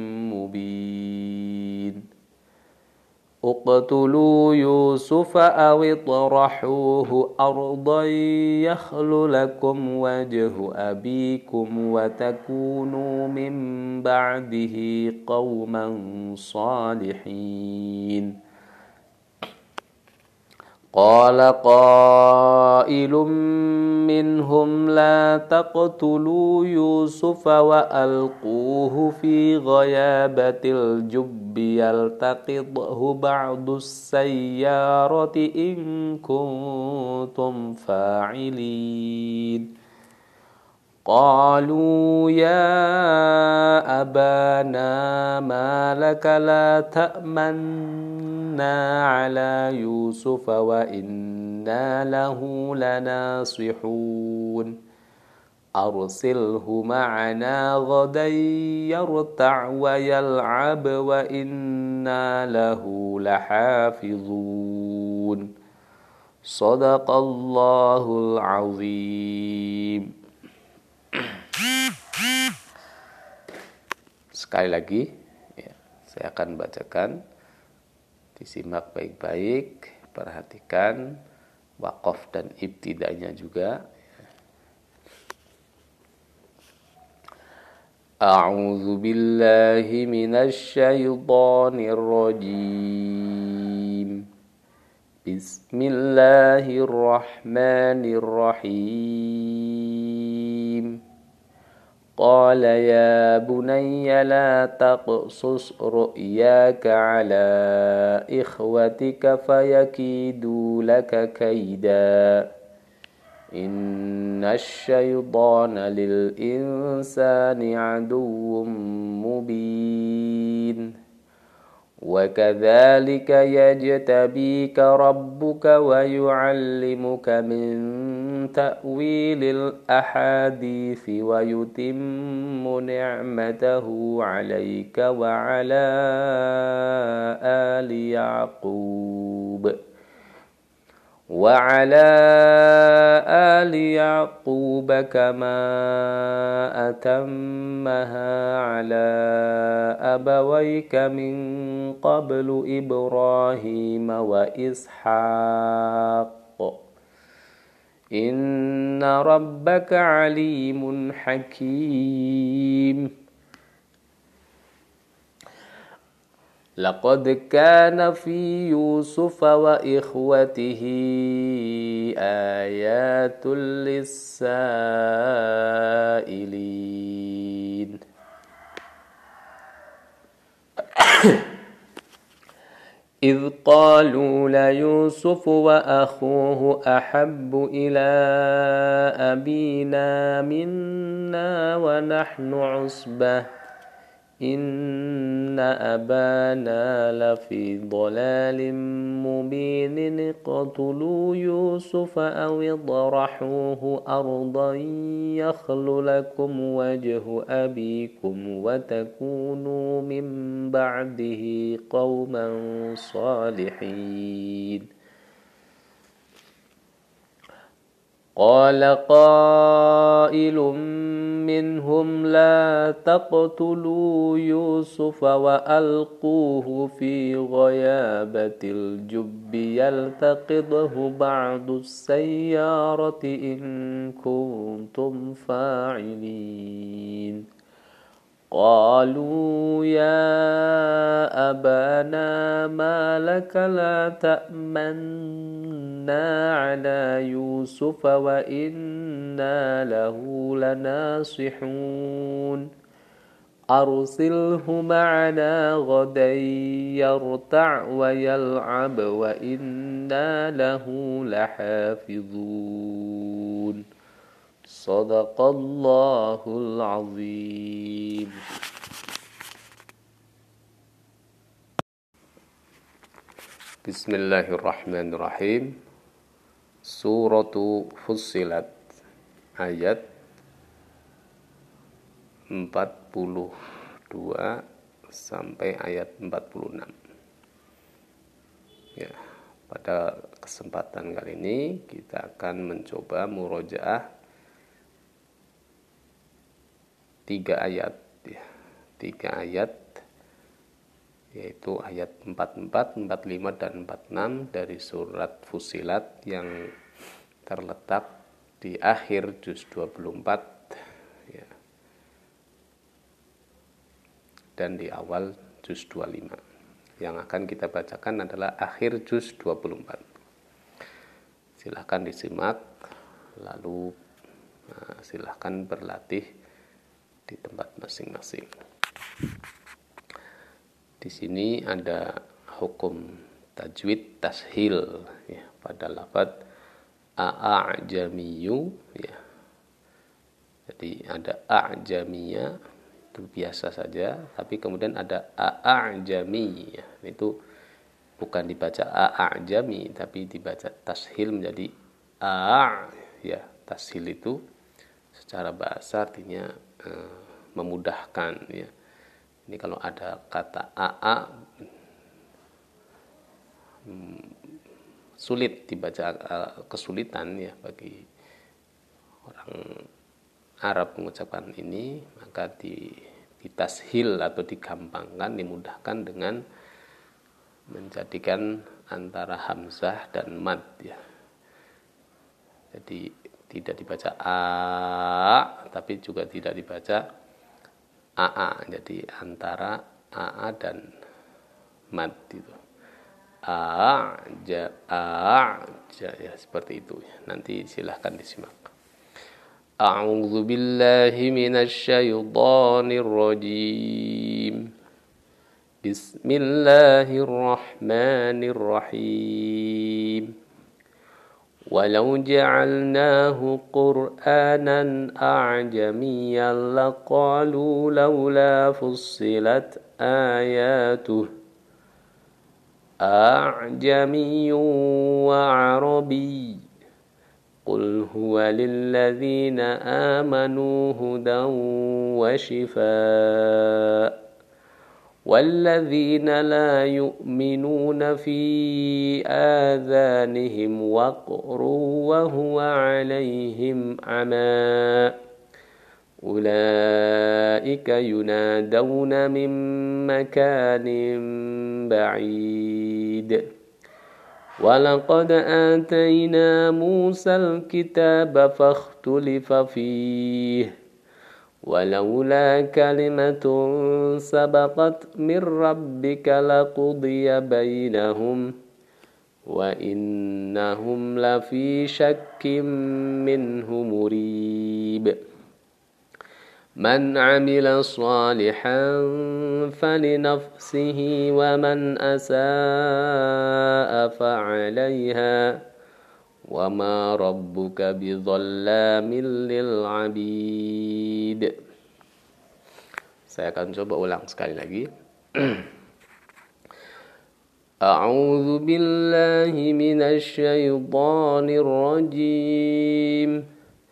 مبين اقتلوا يوسف أو اطرحوه أرضا يخل لكم وجه أبيكم وتكونوا من بعده قوما صالحين قال قائل منهم لا تقتلوا يوسف وألقوه في غيابة الجب يلتقطه بعض السيارة إن كنتم فاعلين قالوا يا أبانا ما لك لا تأمنا على يوسف وإنا له لناصحون أرسله معنا غدا يرتع ويلعب وإنا له لحافظون صدق الله العظيم. Sekali lagi ya, saya akan bacakan, disimak baik-baik, perhatikan waqaf dan ibtidanya juga. A'udzu billahi minasy syaithanir rajim. Bismillahirrahmanirrahim. قال يا بني لا تقصص رؤياك على إخوتك فيكيدوا لك كيدا إن الشيطان للإنسان عدو مبين وكذلك يجتبيك ربك ويعلمك من تأويل الأحاديث ويتم نعمته عليك وعلى آل يعقوب كما أتمها على أبويك من قبل إبراهيم وإسحاق إن ربك عليم حكيم لقد كان في يوسف وإخوته آيات للسائلين إذ قالوا ليوسف وأخوه أحب إلى أبينا منا ونحن عصبة إن أبانا لفي ضلال مبين اقتلوا يوسف أو اطرحوه أرضا يخل لكم وجه أبيكم وتكونوا من بعده قوما صالحين قال قائل منهم لا تقتلوا يوسف وألقوه في غيابة الجب يلتقطه بعض السيارة إن كنتم فاعلين قالوا يا أبانا ما لك لا تأمنا على يوسف وإنا له لناصحون أرسله معنا غدا يرتع ويلعب وإنا له لحافظون صدق الله العظيم. Bismillahirrahmanirrahim. Suratu Fussilat ayat 42 sampai ayat 46. Ya, pada kesempatan kali ini kita akan mencoba murojaah 3 ayat, ya, 3 ayat, yaitu ayat 44, 45, dan 46 dari surat Fussilat yang terletak di akhir juz 24, ya, dan di awal juz 25. Yang akan kita bacakan adalah akhir juz 24. Silahkan disimak, lalu silahkan berlatih di tempat masing-masing. Di sini ada hukum tajwid tashil ya, pada lafaz a'jamiyyu ya. Jadi ada a'jamiyya itu biasa saja, tapi kemudian ada a'jami ya. Itu bukan dibaca a'jami tapi dibaca tashil menjadi ya. Tashil itu secara bahasa artinya memudahkan ya. Ini kalau ada kata sulit dibaca, kesulitan ya bagi orang Arab mengucapkan ini, maka ditashil atau digampangkan, dimudahkan dengan menjadikan antara hamzah dan mad ya. Jadi tidak dibaca tapi juga tidak dibaca jadi antara dan mad itu. Ya seperti itu. Nanti silahkan disimak. A'udzu billahi minasy syaithanir rajim. Bismillahirrahmanirrahim. Walau ja'alnahu Qur'anan a'jamiyyan laqalu laula fussilat ayatuh a'jamiyyun wa 'arabiy qul huwa lilladzina amanu hudan wa shifaa والذين لا يؤمنون في آذانهم وقر وهو عليهم عمى أولئك ينادون من مكان بعيد ولقد آتينا موسى الكتاب فاختلف فيه ولولا كلمة سبقت من ربك لقضي بينهم وإنهم لفي شك منه مريب من عمل صالحا فلنفسه ومن أساء فعليها وما ربك بظلام للعبيد. Saya akan coba ulang sekali lagi. A'udzu billahi minasy syaithanir rajim.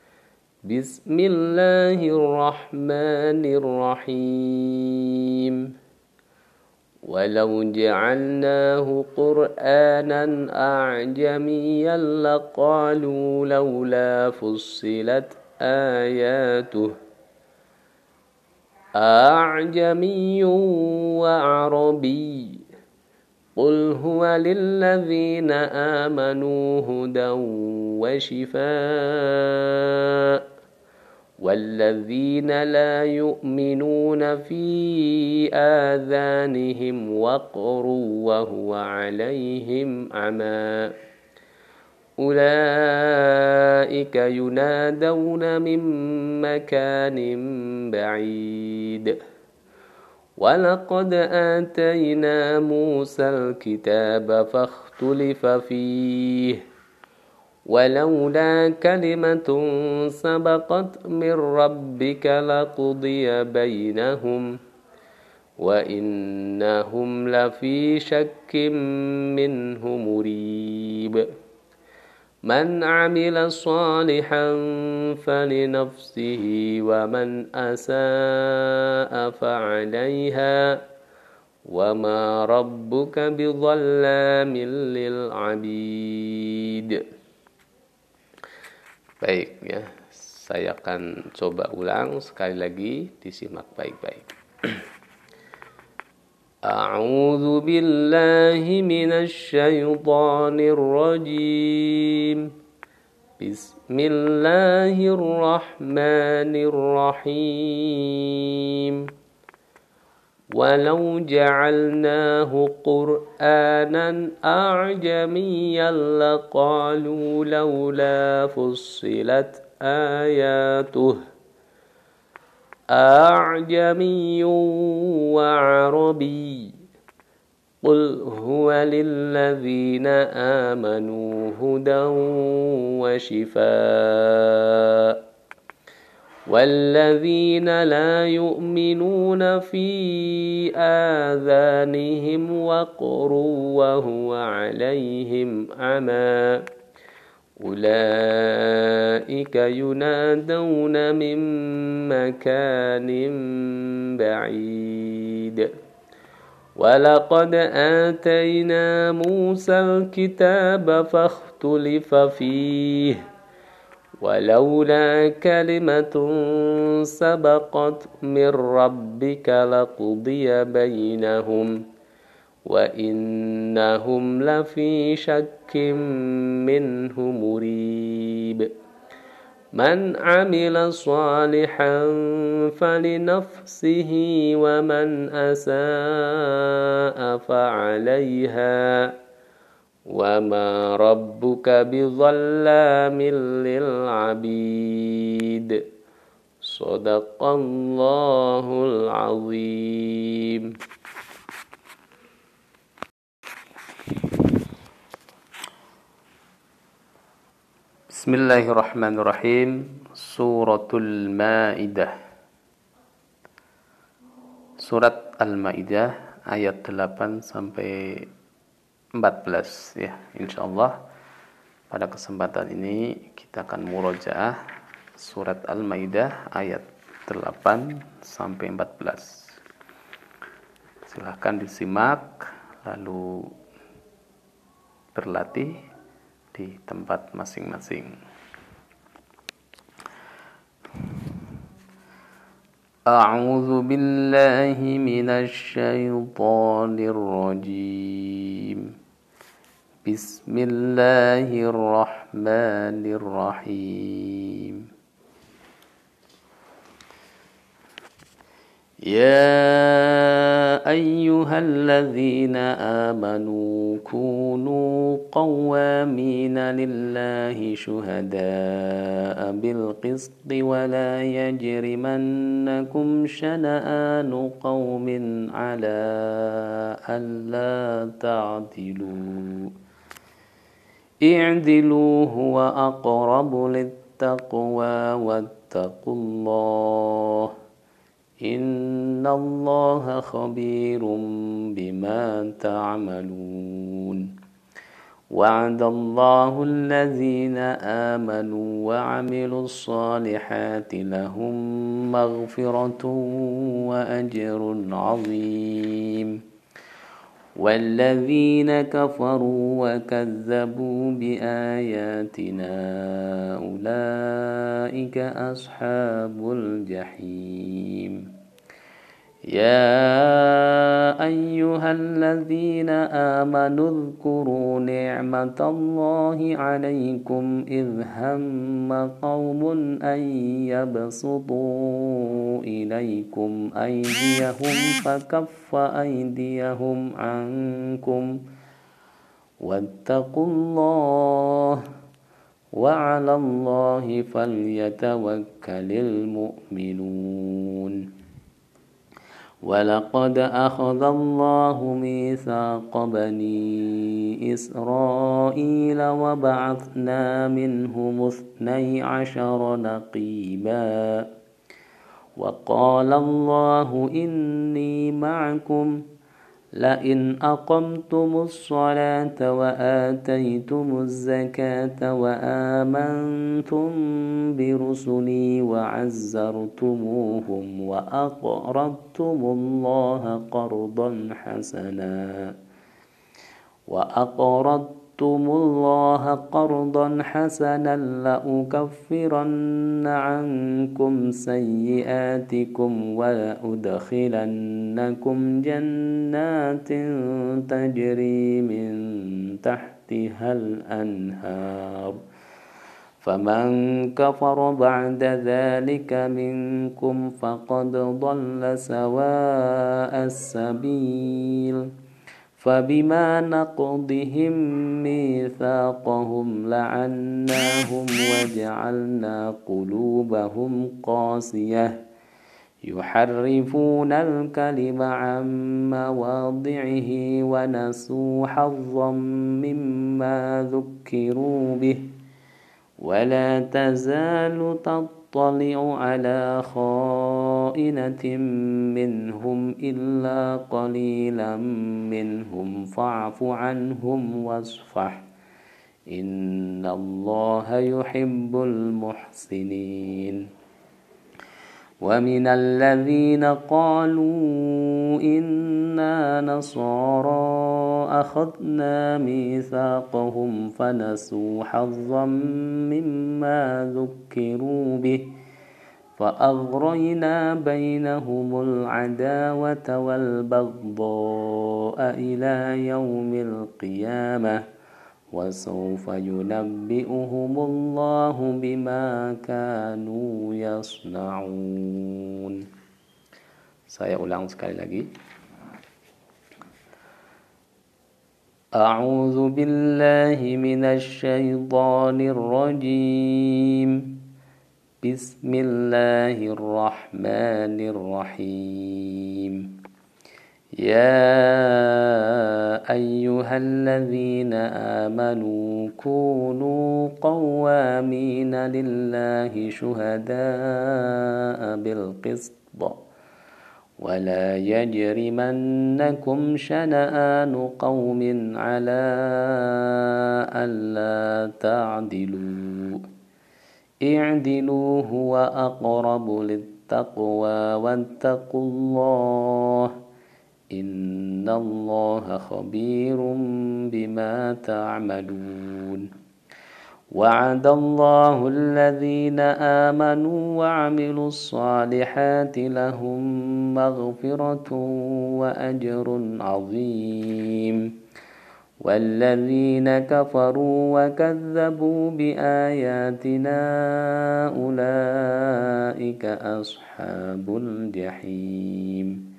Bismillahirrahmanirrahim. ولو جعلناه قرآنا أعجميا لقالوا لولا فصلت آياته أعجمي وعربي قل هو للذين آمنوا هدى وشفاء والذين لا يؤمنون في آذانهم وقر وهو عليهم عمى أولئك ينادون من مكان بعيد ولقد آتينا موسى الكتاب فاختلف فيه ولولا كلمة سبقت من ربك لقضي بينهم وإنهم لفي شك منه مريب من عمل صالحا فلنفسه ومن أساء فعليها وما ربك بظلام للعبيد. Baik ya, saya akan coba ulang sekali lagi, disimak baik-baik. A'udzu billahi minasy syaithanir rajim. Bismillahirrahmanirrahim. ولو جعلناه قرآنا أعجميا لقالوا لولا فصلت آياته أعجمي وعربي قل هو للذين آمنوا هدى وشفاء والذين لا يؤمنون في آذانهم وقر وهو عليهم عمى أولئك ينادون من مكان بعيد ولقد آتينا موسى الكتاب فاختلف فيه ولولا كلمة سبقت من ربك لقضي بينهم وإنهم لفي شك منه مريب من عمل صالحا فلنفسه ومن أساء فعليها وما ربك بظلام للعبيد صدق الله العظيم. Bismillahirrahmanirrahim. Suratul Maidah. Surat Al-Maidah ayat 8 sampai 14 ya. Insyaallah pada kesempatan ini kita akan murojaah surat Al-Maidah ayat 8 sampai 14. Silahkan disimak lalu berlatih di tempat masing-masing. A'udzu billahi minasy syaithanir rajim. Bismillahirrahmanirrahim. يا أيها الذين آمنوا كونوا قوامين لله شهداء بالقسط ولا يجرمنكم شنآن قوم على ألا تعدلوا اعدلوا هو أقرب للتقوى واتقوا الله إن الله خبير بما تعملون وعد الله الذين آمنوا وعملوا الصالحات لهم مغفرة وأجر عظيم والذين كفروا وكذبوا بآياتنا أولئك أصحاب الجحيم يا أيها الذين آمنوا اذكروا نعمة الله عليكم إذ هم قوم أن يبسطوا إليكم أيديهم فكف أيديهم عنكم واتقوا الله وعلى الله فليتوكل المؤمنون ولقد أخذ الله ميثاق بني إسرائيل وبعثنا منهم 12 نقيبا وقال الله إني معكم لئن أقمتم الصلاة وآتيتم الزكاة وآمنتم برسلي وعزرتموهم وأقرضتم الله قرضا حسنا لأكفرن عنكم سيئاتكم ولأدخلنكم جنات تجري من تحتها الأنهار فمن كفر بعد ذلك منكم فقد ضل سواء السبيل فبما نقضهم ميثاقهم لعناهم وجعلنا قلوبهم قاسية يحرفون الكلم عن مواضعه ونسوا حظا مما ذكروا به ولا تزال تطلع على خائنة منهم إلا قليلا منهم فاعف عنهم واصفح إن الله يحب المحسنين ومن الذين قالوا إنا نصارى أخذنا ميثاقهم فنسوا حظا مما ذكروا به فأغرينا بينهم العداوة والبغضاء إلى يوم القيامة وسوف ينبئهم الله بما كانوا يصنعون. Saya ulang sekali lagi. A'udzu billahi minasy syaithanir rajim. Bismillahirrahmanirrahim. يا أيها الذين آمنوا كونوا قوامين لله شهداء بالقسط ولا يجرمنكم شنآن قوم على ألا تعدلوا اعدلوا هو أقرب للتقوى واتقوا الله إن الله خبير بما تعملون وعد الله الذين آمنوا وعملوا الصالحات لهم مغفرة وأجر عظيم والذين كفروا وكذبوا بآياتنا أولئك أصحاب الجحيم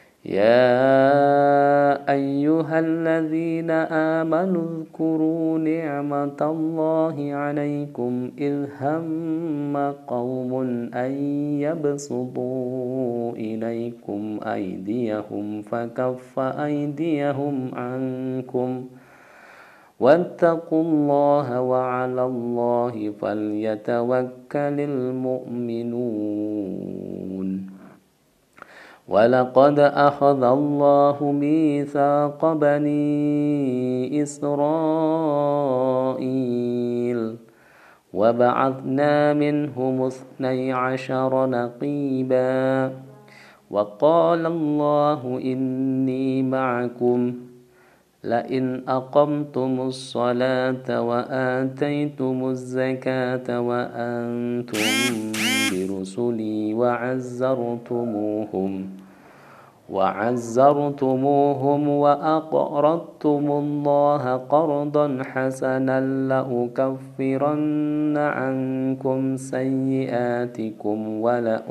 يا أيها الذين آمنوا اذكروا نعمة الله عليكم إذ هم قوم أن يبسطوا إليكم أيديهم فكف أيديهم عنكم واتقوا الله وعلى الله فليتوكل المؤمنون ولقد أخذ الله ميثاق بني إسرائيل وبعثنا منهم 12 نقيبا وقال الله إني معكم لئن أقمتم الصلاة وآتيتم الزكاة وأنتم برسلي وعزرتموهم وأقرضتم الله قرضا حسنا لأكفرن عنكم سيئاتكم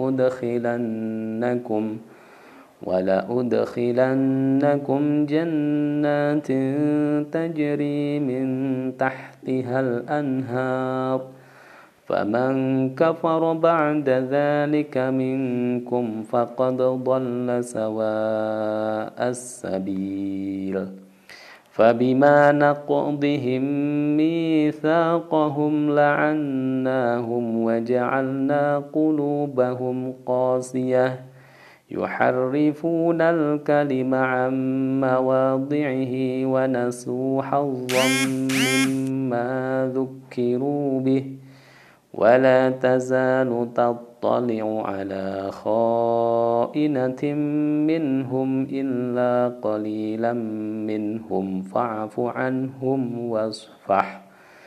ولأدخلنكم جنات تجري من تحتها الأنهار فمن كفر بعد ذلك منكم فقد ضل سواء السبيل فبما نقضهم ميثاقهم لعناهم وجعلنا قلوبهم قاسية يحرفون الكلم عن مواضعه ونسوا حظا مما ذكروا به ولا تزال تطلع على خائنة منهم إلا قليلا منهم فاعف عنهم واصفح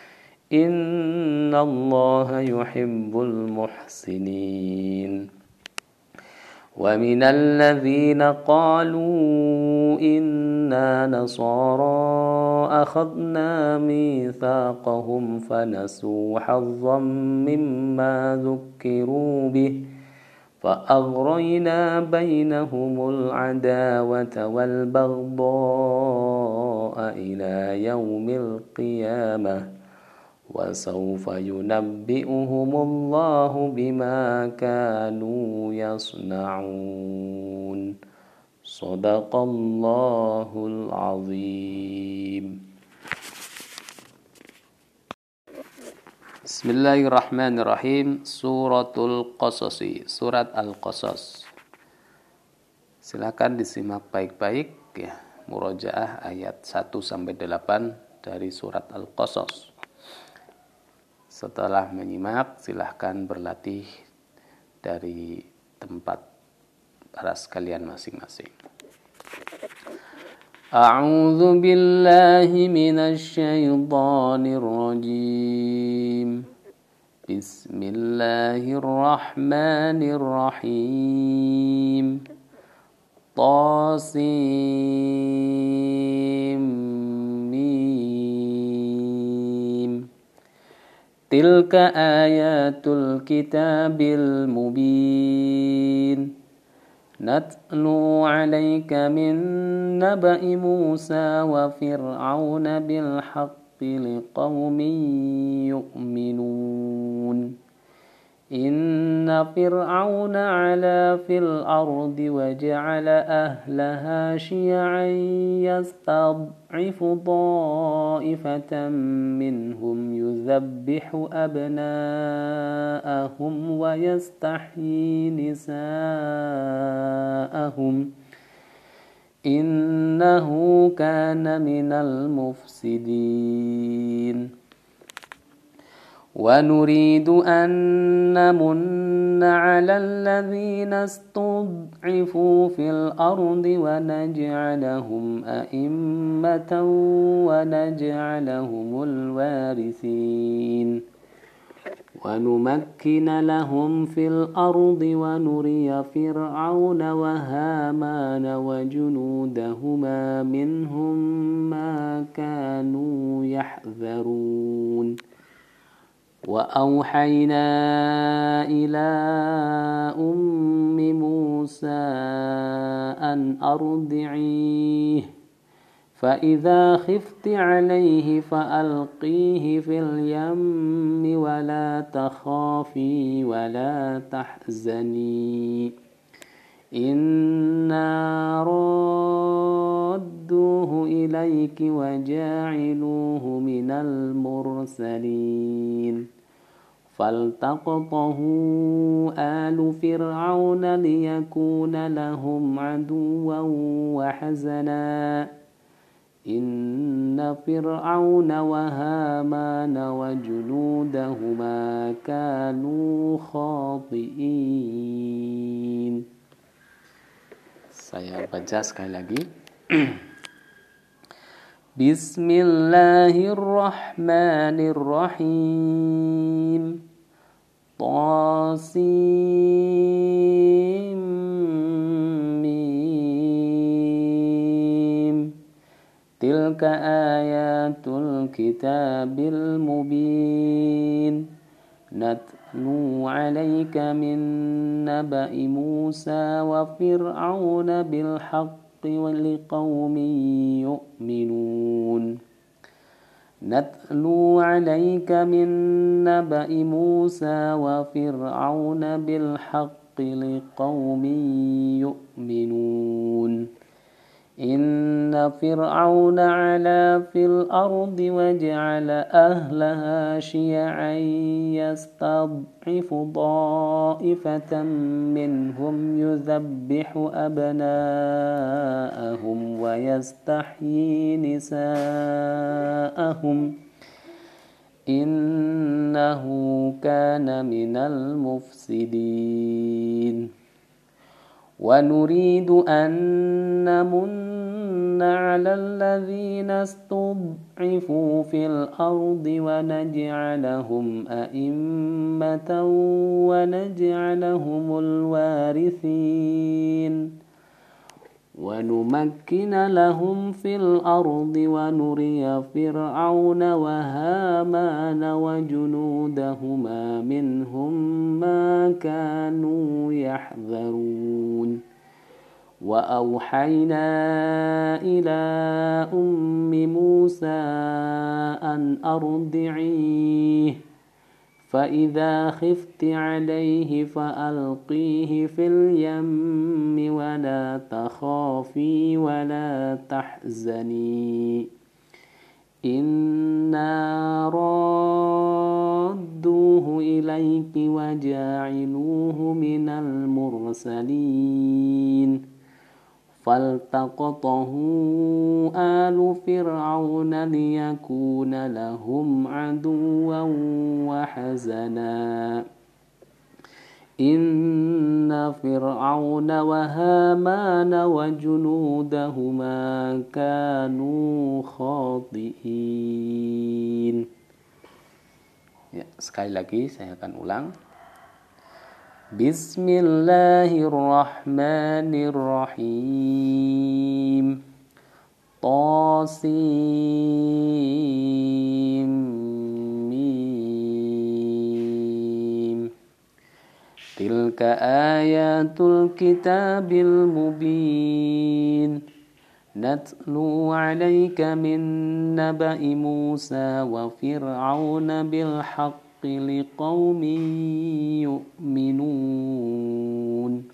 إن الله يحب المحسنين ومن الذين قالوا إنا نصارى أخذنا ميثاقهم فنسوا حظا مما ذكروا به فأغرينا بينهم العداوة والبغضاء إلى يوم القيامة وسوف ينبئهم الله بما كانوا يصنعون صدق الله العظيم. Bismillahirrahmanirrahim. Suratul Qasasi, surat Al-Qasas. Silakan disimak baik-baik ya, murojaah ayat 1 sampai 8 dari surat Al-Qasas. Setelah menyimak, silahkan berlatih dari tempat para sekalian masing-masing. A'udzu billahi minasy syaithanir rajim. Bismillahirrahmanirrahim. Tasim. Tilka ayatul kitabil mubin. Natlu 'alaika min naba'i Musa wa Fir'auna bil haqqi liqaumin yu'minun. Inna Fir'auna 'ala fil ardi wa ja'ala ahlaha syi'an yastad'ifu ta'ifatan minhum yuzabbihu abna'ahum wa yastahyi nisa'ahum innahu kana minal mufsidin. ونريد أن نمن على الذين استضعفوا في الأرض ونجعلهم أئمة ونجعلهم الوارثين ونمكن لهم في الأرض ونري فرعون وهامان وجنودهما منهم ما كانوا يحذرون وأوحينا إلى أم موسى أن أرضعيه فإذا خفت عليه فألقيه في اليم ولا تخافي ولا تحزني إنا ردوه إليك وجاعلوه من المرسلين فالتقطه آل فرعون ليكون لهم عدوا وحزنا إن فرعون وهامان وجنودهما كانوا خاطئين. Saya baca sekali lagi. Bismillahirrahmanirrahim. Tasim mim. Tilka ayatul kitabil mubin. Natlu 'alaika min naba'i Musa wa Fir'auna bil haqqi wa liqaumin yu'minun. Natlu 'alaika min naba'i Musa wa Fir'auna bil haqqi liqaumin yu'minun. Inna fir'auna 'ala fil ardi wa ja'ala ahlaha syi'an yastad'ifu ta'ifatan minhum yuzabbihu abna'ahum wa yastahyi nisa'ahum innahu kana minal mufsidin. ونريد أن نمن على الذين استضعفوا في الأرض ونجعلهم أئمة ونجعلهم الوارثين ونمكن لهم في الأرض ونري فرعون وهامان وجنودهما منهم ما كانوا يحذرون وأوحينا إلى أم موسى أن أرضعيه فإذا خفت عليه فألقيه في اليم ولا تخافي ولا تحزني إنا رادوه إليك وجاعلوه من المرسلين فالتقطه آل فرعون ليكون لهم عدوا وحزنا إن فرعون وهامان وجنودهما كانوا خاطئين. Ya, sekali lagi saya akan ulang. Bismillahirrahmanirrahim. Tasim mim. Tilka ayatul kitabil mubin. Natlu 'alaika min naba'i Musa wa fir'auna bil haqqi liqaumin yu'minun.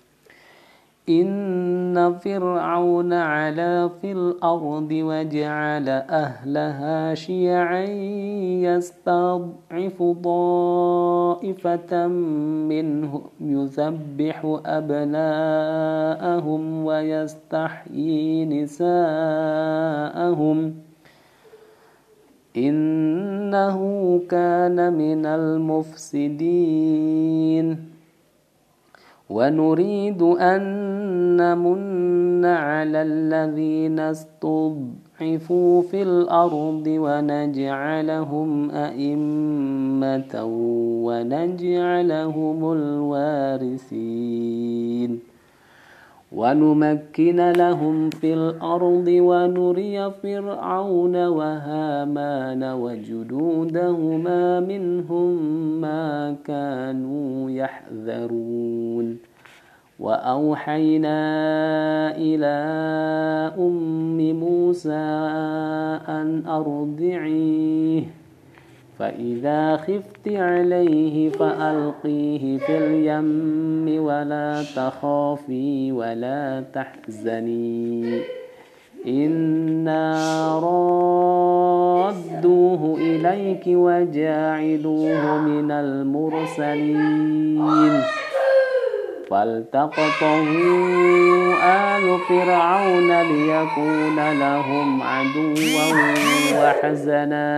Inna fir'auna 'ala fil ardi wa ja'ala ahlaha syi'an yastad'ifu ta'ifatan minhum yuzabbihu abna'ahum wa yastahyi nisa'ahum innahu kana minal mufsidin. ونريد أن نمن على الذين استضعفوا في الأرض ونجعلهم أئمة ونجعلهم الوارثين ونمكن لهم في الأرض ونري فرعون وهامان وجنودهما منهم ما كانوا يحذرون وأوحينا إلى أم موسى أن أرضعيه فإذا خفت عليه فألقيه في اليم ولا تخافي ولا تحزني إنا رادوه إليك وجاعلوه من المرسلين فالتقطه آل فرعون ليكون لهم عدوا وحزنا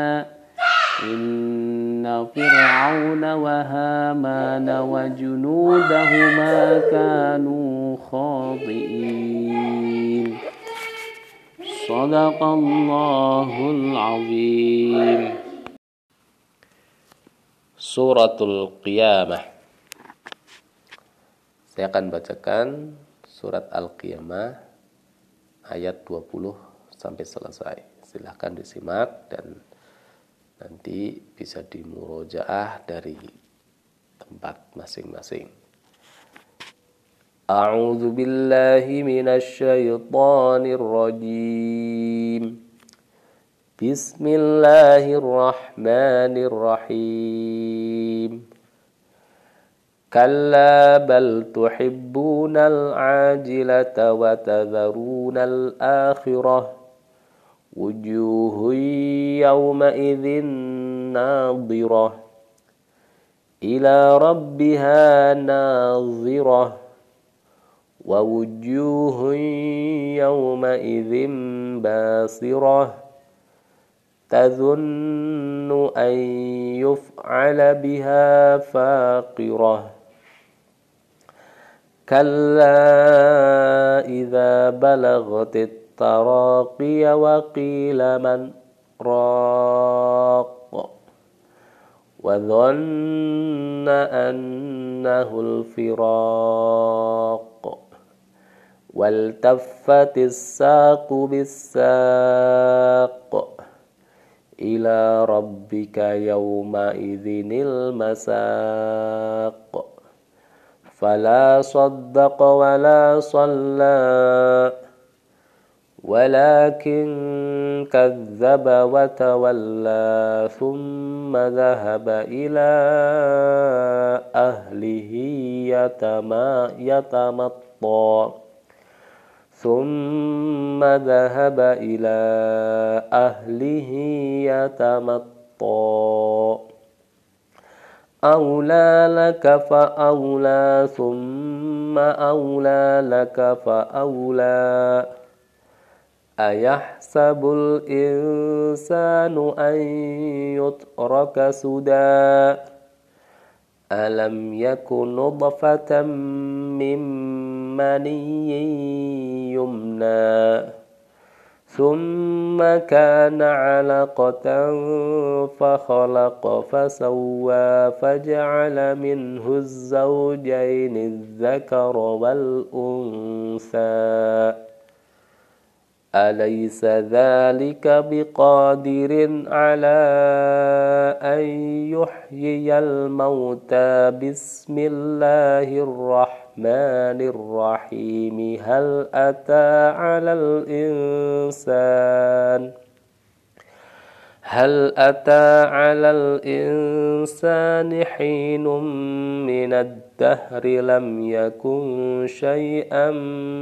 إن فرعون وهامان وجنودهما كانوا خاطئين. صدق الله العظيم. Suratul Qiyamah. Saya akan bacakan surat Al-Qiyamah ayat 20 sampai selesai. Silahkan disimak dan nanti bisa dimurojaah dari tempat masing-masing. A'udzu billahi minasy syaithanir rajim. Bismillahirrahmanirrahim. Kalla bal tuhibbunal ajilata wa tadharunal akhirah. Wujuhun yawma'idhin nadhirah ila rabbiha nadhirah wa wujuhun yawma'idhin basirah tadhunnu an yuf'ala biha faqirah كلا إذا بلغت التراقي وقيل من راق وظن أنه الفراق والتفت الساق بالساق إلى ربك يومئذ المساق فلا صدق ولا صلى ولكن كذب وتولى ثم ذهب إلى أهله يتمطى ثم ذهب إلى أهله يتمطى أولى لك فأولى ثم أولى لك فأولى أيحسب الإنسان أن يترك سدى ألم يكن نطفة من مني يمنى ثم كان علقة فخلق فسوى فجعل منه الزوجين الذكر والأنثى أليس ذلك بقادر على أن يحيي الموتى بسم الله الرحمن الرحيم هل أتى على الإنسان حين من الدهر لم يكن شيئا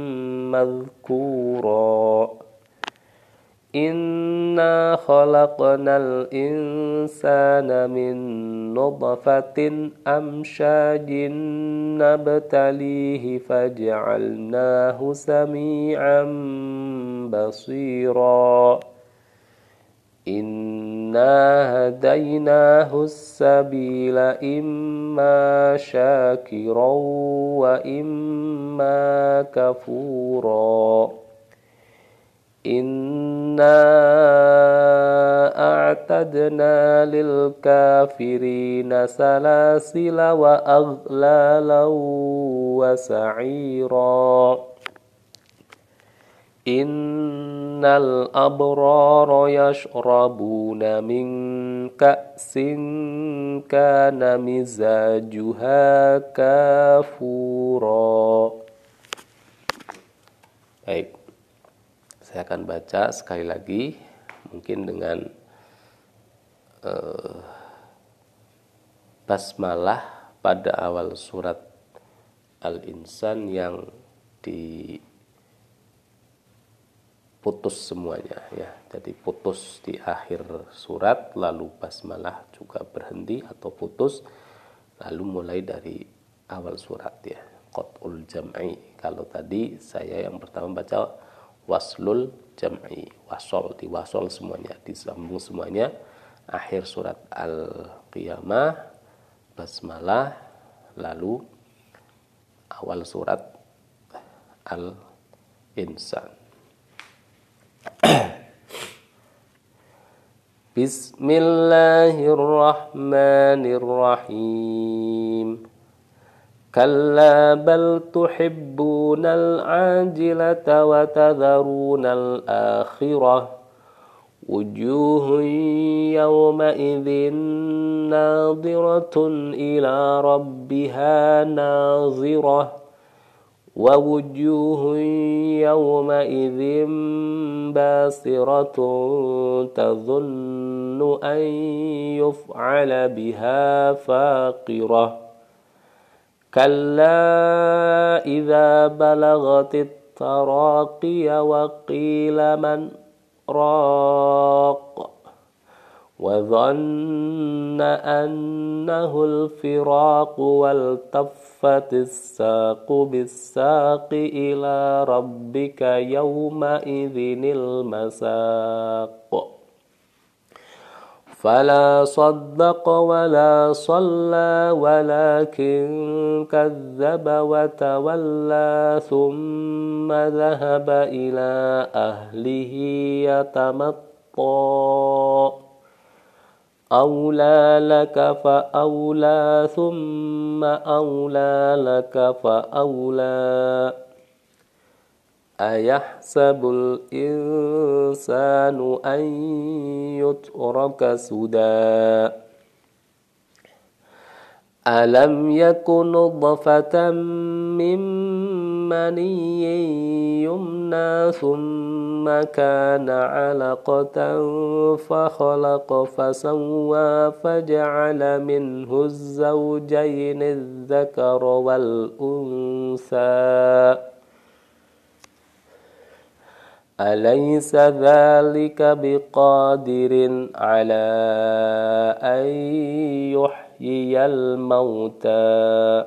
مذكورا إنا خلقنا الإنسان من نطفة أمشاج نبتليه فجعلناه سميعا بصيرا إنا هديناه السبيل إما شاكرا وإما كفورا إنا أعتدنا للكافرين سلاسل وأغلالا وسعيرا إن الأبرار يشربون من كأس كان مزاجها كافورا. Baik, saya akan baca sekali lagi, mungkin dengan basmalah pada awal surat Al-Insan yang putus semuanya ya. Jadi putus di akhir surat, lalu basmalah juga berhenti atau putus, lalu mulai dari awal surat ya. Qat'ul jam'i. Kalau tadi saya yang pertama baca waslul jam'i, diwasol semuanya, disambung semuanya. Akhir surat Al-Qiyamah basmalah, lalu awal surat Al-Insan. Bismillahirrahmanirrahim. Kalla bal tuhibbunal ajilata wa tadharunal akhirah. Wujuhun yawma idzin nadhiratun ila rabbiha nadhirah. Wa wujuhun yawma idzin basiratun tadhunnu an yuf'ala biha faqirah. Kalla idza balagatit taraqiya wa qila man raq wa dhanna annahu al-firaq wal taffatis saqu bis-saqi ila rabbika yawma idzinil masaq. فلا صدق ولا صلى ولكن كذب وتولى ثم ذهب إلى أهله يتمطى أولى لك فأولى ثم أولى لك فأولى أيحسب الإنسان أن يترك سدى ألم يكن نطفة من مني يمنى ثم كان علقة فخلق فسوى فجعل منه الزوجين الذكر والأنثى أليس ذلك بقادر على أن يحيي الموتى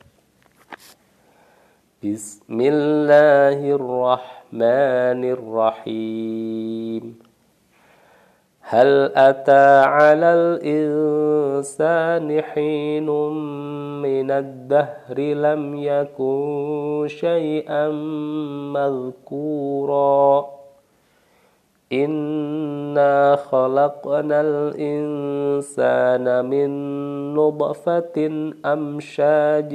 بسم الله الرحمن الرحيم هل أتى على الإنسان حين من الدهر لم يكن شيئا مذكورا إنا خلقنا الإنسان من نطفة أمشاج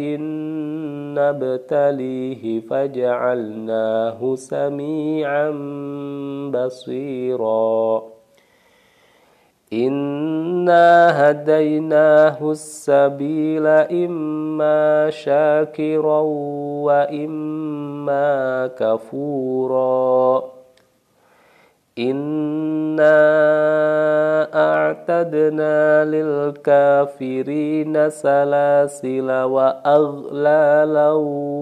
نبتليه فجعلناه سميعا بصيرا إنا هديناه السبيل إما شاكرا وإما كفورا إنا أعتدنا للكافرين سلاسل وأغلالا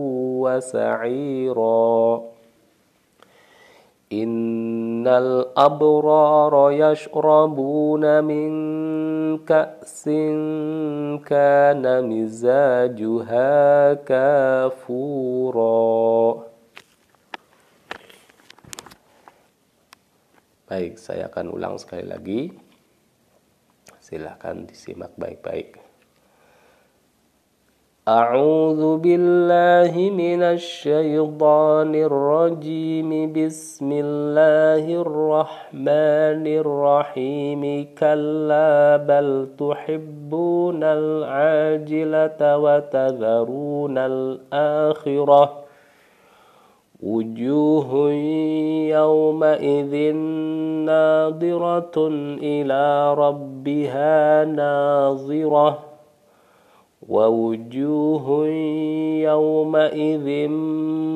وسعيرا إن الأبرار يشربون من كأس كان مزاجها كافورا. Baik, saya akan ulang sekali lagi. Silahkan disimak baik-baik. A'udzu billahi minasy syaithanir rajim. Bismillahirrahmanirrahim. Kalla bal tuhibbunal ajilata wa tadharunal akhirah. Wujuhun yawmaidhin nadiratun ila rabbiha nazirah wa wujuhun yawmaidhin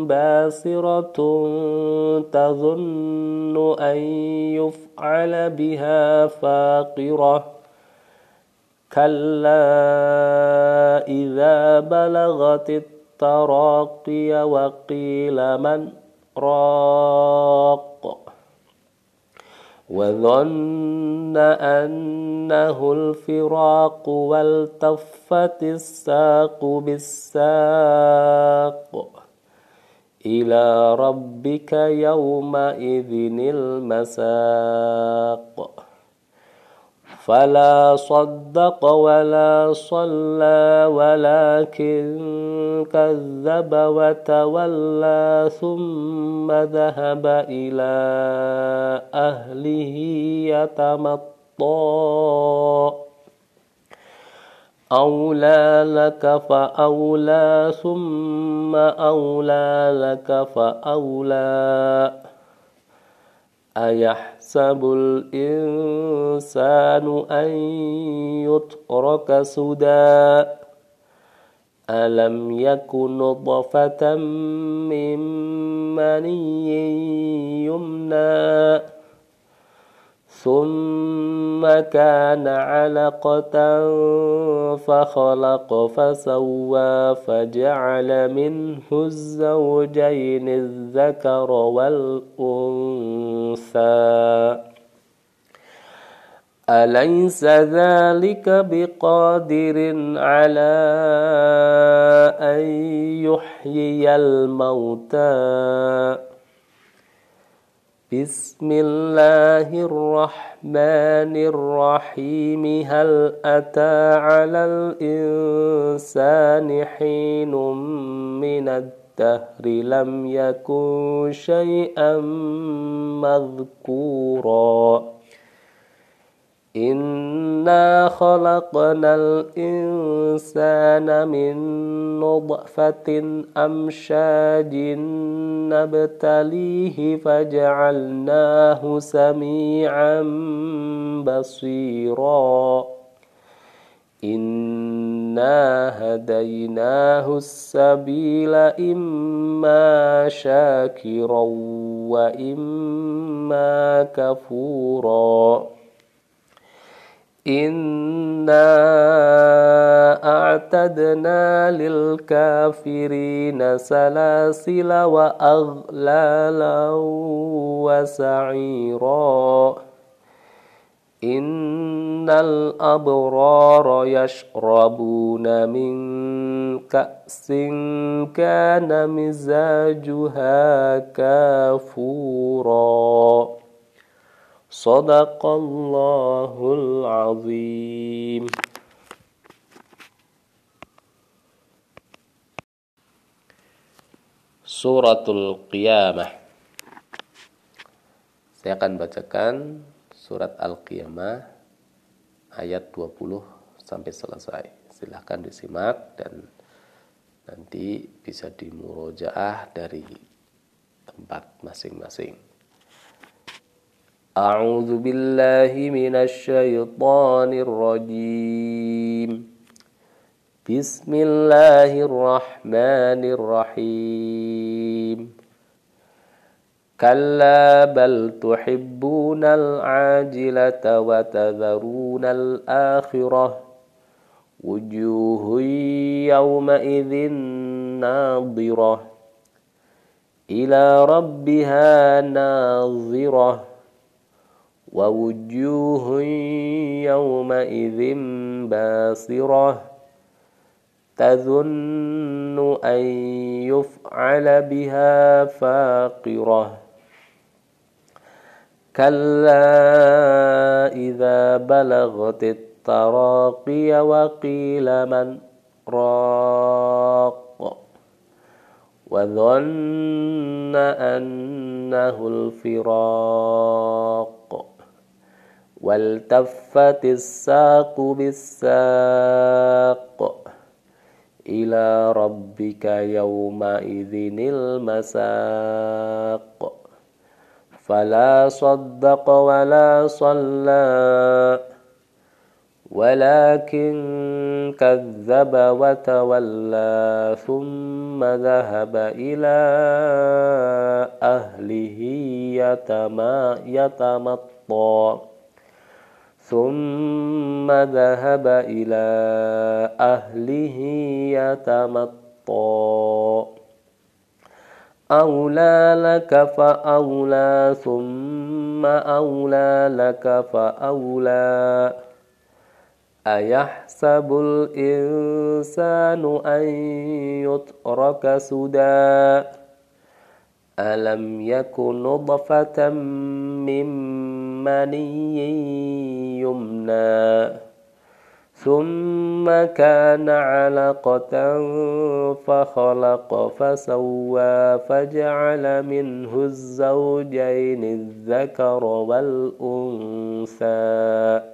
basiratun tadhunnu an yuf'ala biha faqirah kalla idza balagatit تراقي وقيل من راق وظن أنه الفراق والتفت الساق بالساق إلى ربك يومئذ المساق فلا صدق ولا صلى ولكن كذب وتولى ثم ذهب إلى أهله يتمطى أولى لك فأولى ثم أولى لك فأولى أيحسب الإنسان أن يترك سدى ألم يكن نطفة من مني يمنى ثم كان علقة فخلق فسوى فجعل منه الزوجين الذكر والأنثى أليس ذلك بقادر على أن يحيي الموتى Bismillahirrahmanirrahim. Hal ata 'alal insani hinum minad dahri lam yakun syai'an madhkura. Inna khalaqnal insana min nutfatin amsyajin nabtalihi faja'alnahu sami'an basira. Inna hadainahu as-sabila imma syakiran wa imma kafura. Inna a'tadna lil kafirina salasila wa aghlalan wa sa'ira. Innal abrara yashrabuna min ka'sin kana mizajuha kafura. Shadaqallahul azim. Suratul Qiyamah. Saya akan bacakan surat Al-Qiyamah ayat 20 sampai selesai. Silahkan disimak dan nanti bisa dimurojaah dari tempat masing-masing. A'udzu billahi minasy syaithanir rajim. Bismillahirrahmanirrahim. Kalla bal tuhibbunal ajilata wa tadharunal akhirah. Wujuhun yawma idzin nadhirah ila rabbiha nadhirah. Wa wujuhun yawma idzin basirah tadhunnu an yuf'ala biha faqirah. Kalla idza balaghatit taraqiya wa qila man raq wa dhanna annahu al-firaq. Waltaffatis saqu bis-saq ila rabbika yawma idzinil masaq. Fala saddaqa wa la shalla walakin kadzdzaba wa tawalla thumma dhahaba ila ahlihi yatamatta. ثم ذهب إلى أهله يتمطى. أولى لك فأولى ثم أولى لك فأولى. أيحسب الإنسان أن يترك سدى ألم يكن نطفة من مني يمنى ثم كان علقة فخلق فسوى فجعل منه الزوجين الذكر والأنثى.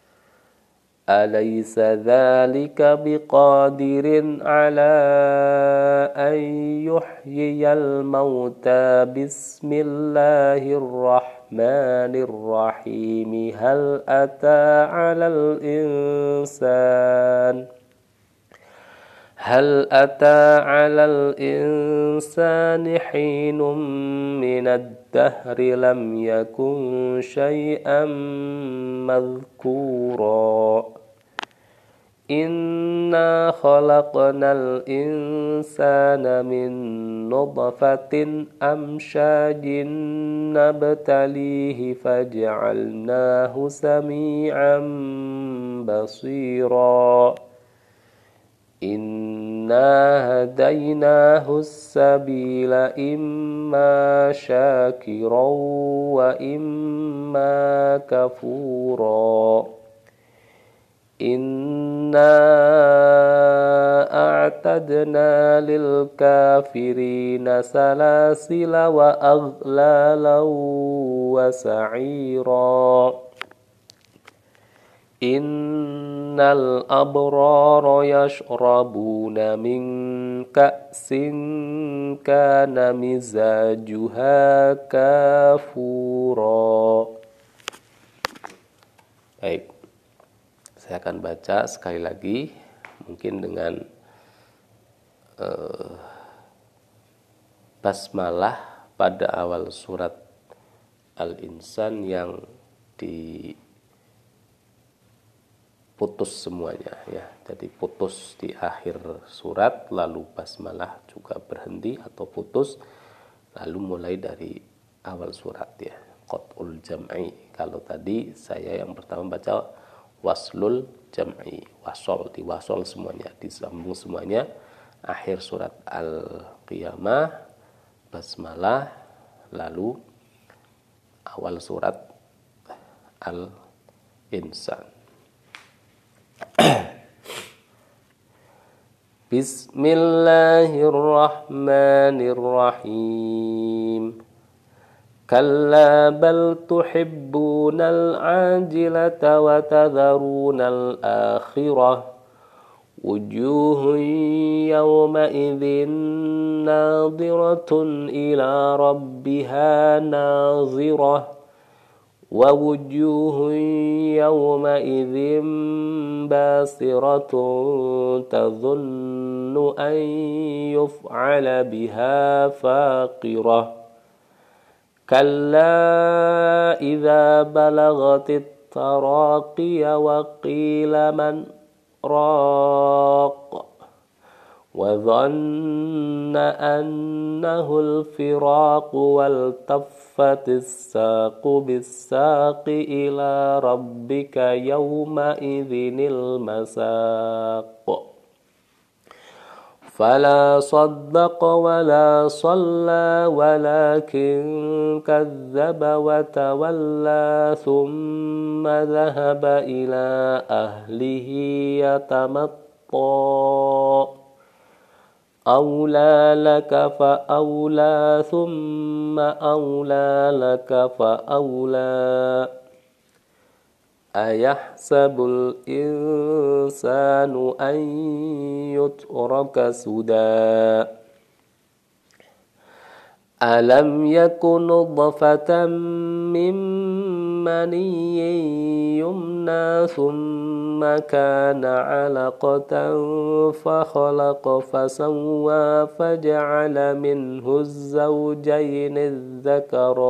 أليس ذلك بقادر على أن يحيي الموتى. بسم الله الرحمن الرحيم. هل أتى على الإنسان حين من الدهر لم يكن شيئا مذكورا. Inna khalaqnal insana min nutfatin amsyajin nabtalihi faj'alnahu sami'an basira. Inna هديناه السبيل إما شاكرا وإما كفورا إنا أعتدنا للكافرين سلاسل وأغلالا وسعيرا إن الأبرار يشربون من كأس كان مزاجها كافورا. Baik, saya akan baca sekali lagi, mungkin dengan basmalah pada awal surat Al-Insan yang putus semuanya ya. Jadi putus di akhir surat, lalu basmalah juga berhenti atau putus, lalu mulai dari awal surat ya. Qat'ul jam'i. Kalau tadi saya yang pertama baca waslul jam'i, diwasol semuanya, disambung semuanya. Akhir surat Al-Qiyamah basmalah, lalu awal surat Al-Insan. Bismillahirrahmanirrahim. Kalla bal tuhibbunal ajilata wa tadharunal akhirah. Wujuhun yawma idzin nadhiratun ila rabbiha nadhirah. Wa wujuhun yawma idzin basiratun tadhunnu an yuf'ala biha faqirah. Kalla idza balagatit taraqiya wa qila man raq wa dhanna annahu al-firaq wal taffatis saqu bis-saqi ila rabbika yawma idzinil masaq. فلا صدق ولا صلى ولكن كذب وتولى ثم ذهب إلى أهله يتمطى أولى لك فأولى ثم أولى لك فأولى أيحسب الإنسان أن يترك سدى ألم يكن نطفة من مني يمنى ثم كان علقة فخلق فسوى فجعل منه الزوجين الذكر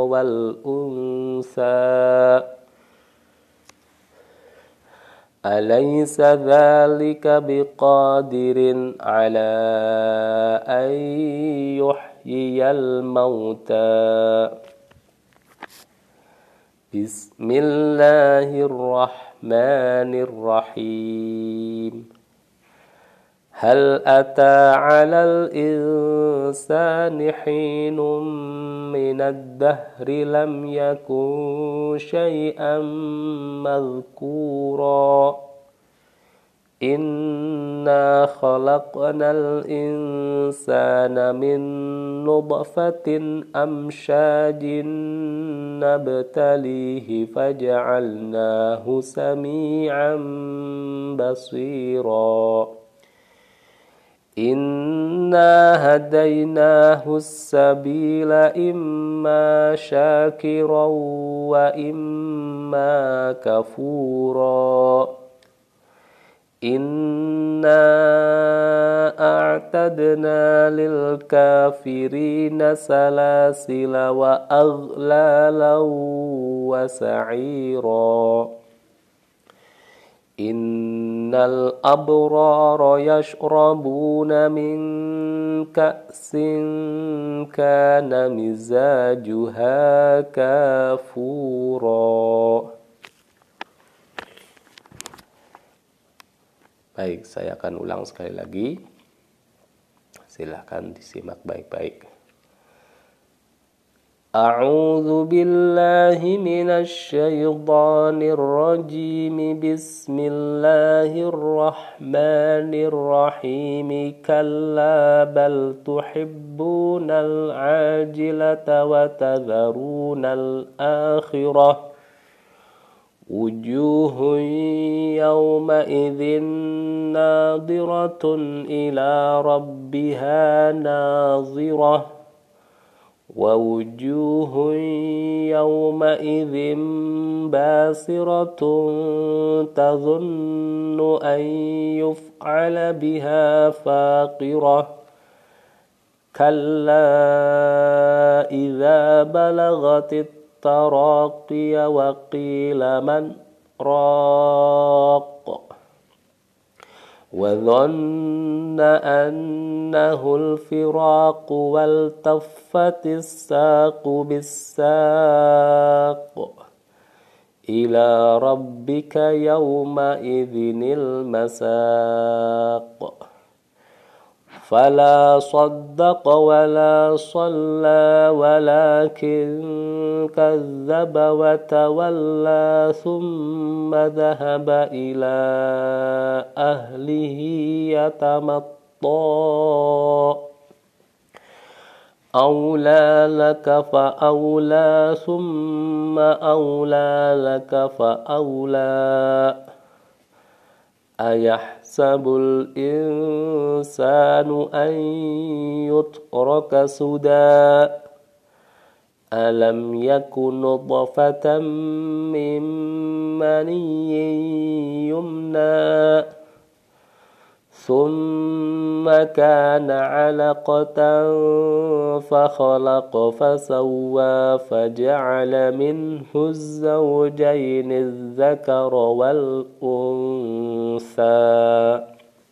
والأنثى أليس ذلك بقادر على أن يحيي الموتى بسم الله الرحمن الرحيم هل أتى على الإنسان حين من الدهر لم يكن شيئا مذكورا إنا خلقنا الإنسان من نطفة أمشاج نبتليه فجعلناه سميعا بصيرا إنا هديناه السبيل إما شاكرا وإما كفورا إنا أعتدنا للكافرين سلاسل وأغلالا وسعيرا إن الأبرار يشربون من كأس كان مزاجها كافورا. Baik, saya akan ulang sekali lagi. Silahkan disimak baik-baik. A'udzu billahi minasy syaithanir rajim. Bismillahirrahmanirrahim. Kalla bal tuhibbunal ajilata wa tadharunal akhirah. Wujuhun yawma idzin nadiratun ila rabbiha nazirah. Wa wujuhun yawma idzin basiratun tadhunnu an yuf'ala biha faqirah. Kalla idza balagatit taraqiya wa qila man raq wa dhanna annahu al-firaq wal taffatis saqu bis-saq ila rabbika yawma idzinil masaq. Fala saddaqa wa la shalla walakin kazzaba wa tawalla thumma dhahaba ila ahlihi yatamatta. Awla laka fa awla thumma awla laka fa awla. Ayahsabul insanu an yutraka suda. Alam yakun nutfatan min maniyyin yumna. Thumma kana 'alaqatan fakhalaqa fasawwa faja'ala minhu az-zawjayni adh-dhakara wal untha.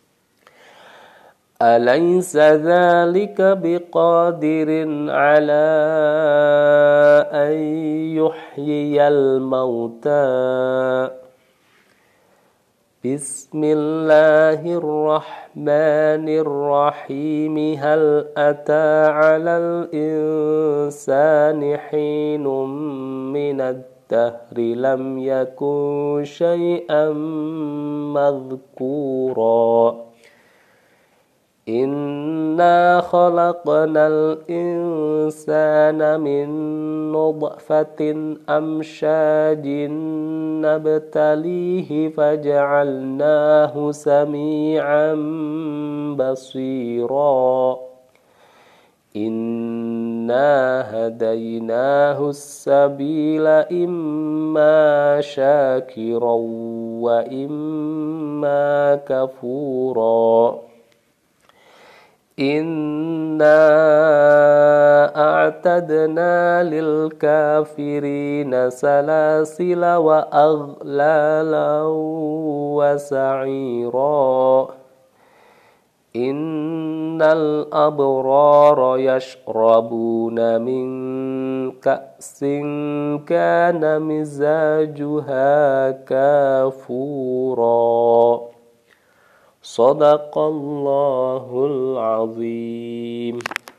Alaysa dhalika biqadirin 'ala an yuhyiyal mauta. Bismillahirrahmanirrahim. Hal ata 'alal insani hinum minad dahri lam yakun syai'an madhkura. Inna khalaqnal insana min nutfatin amsyajin nabtalihi faja'alnahu sami'an basira. Inna hadainahu as-sabila imma syakiran wa imma kafura. Inna a'tadna lil kafirina salasila wa aghlalan wa sa'ira. Innal abrara yashrabuna min ka'sin kana mizajuha kafura. Sadaqallahul azim.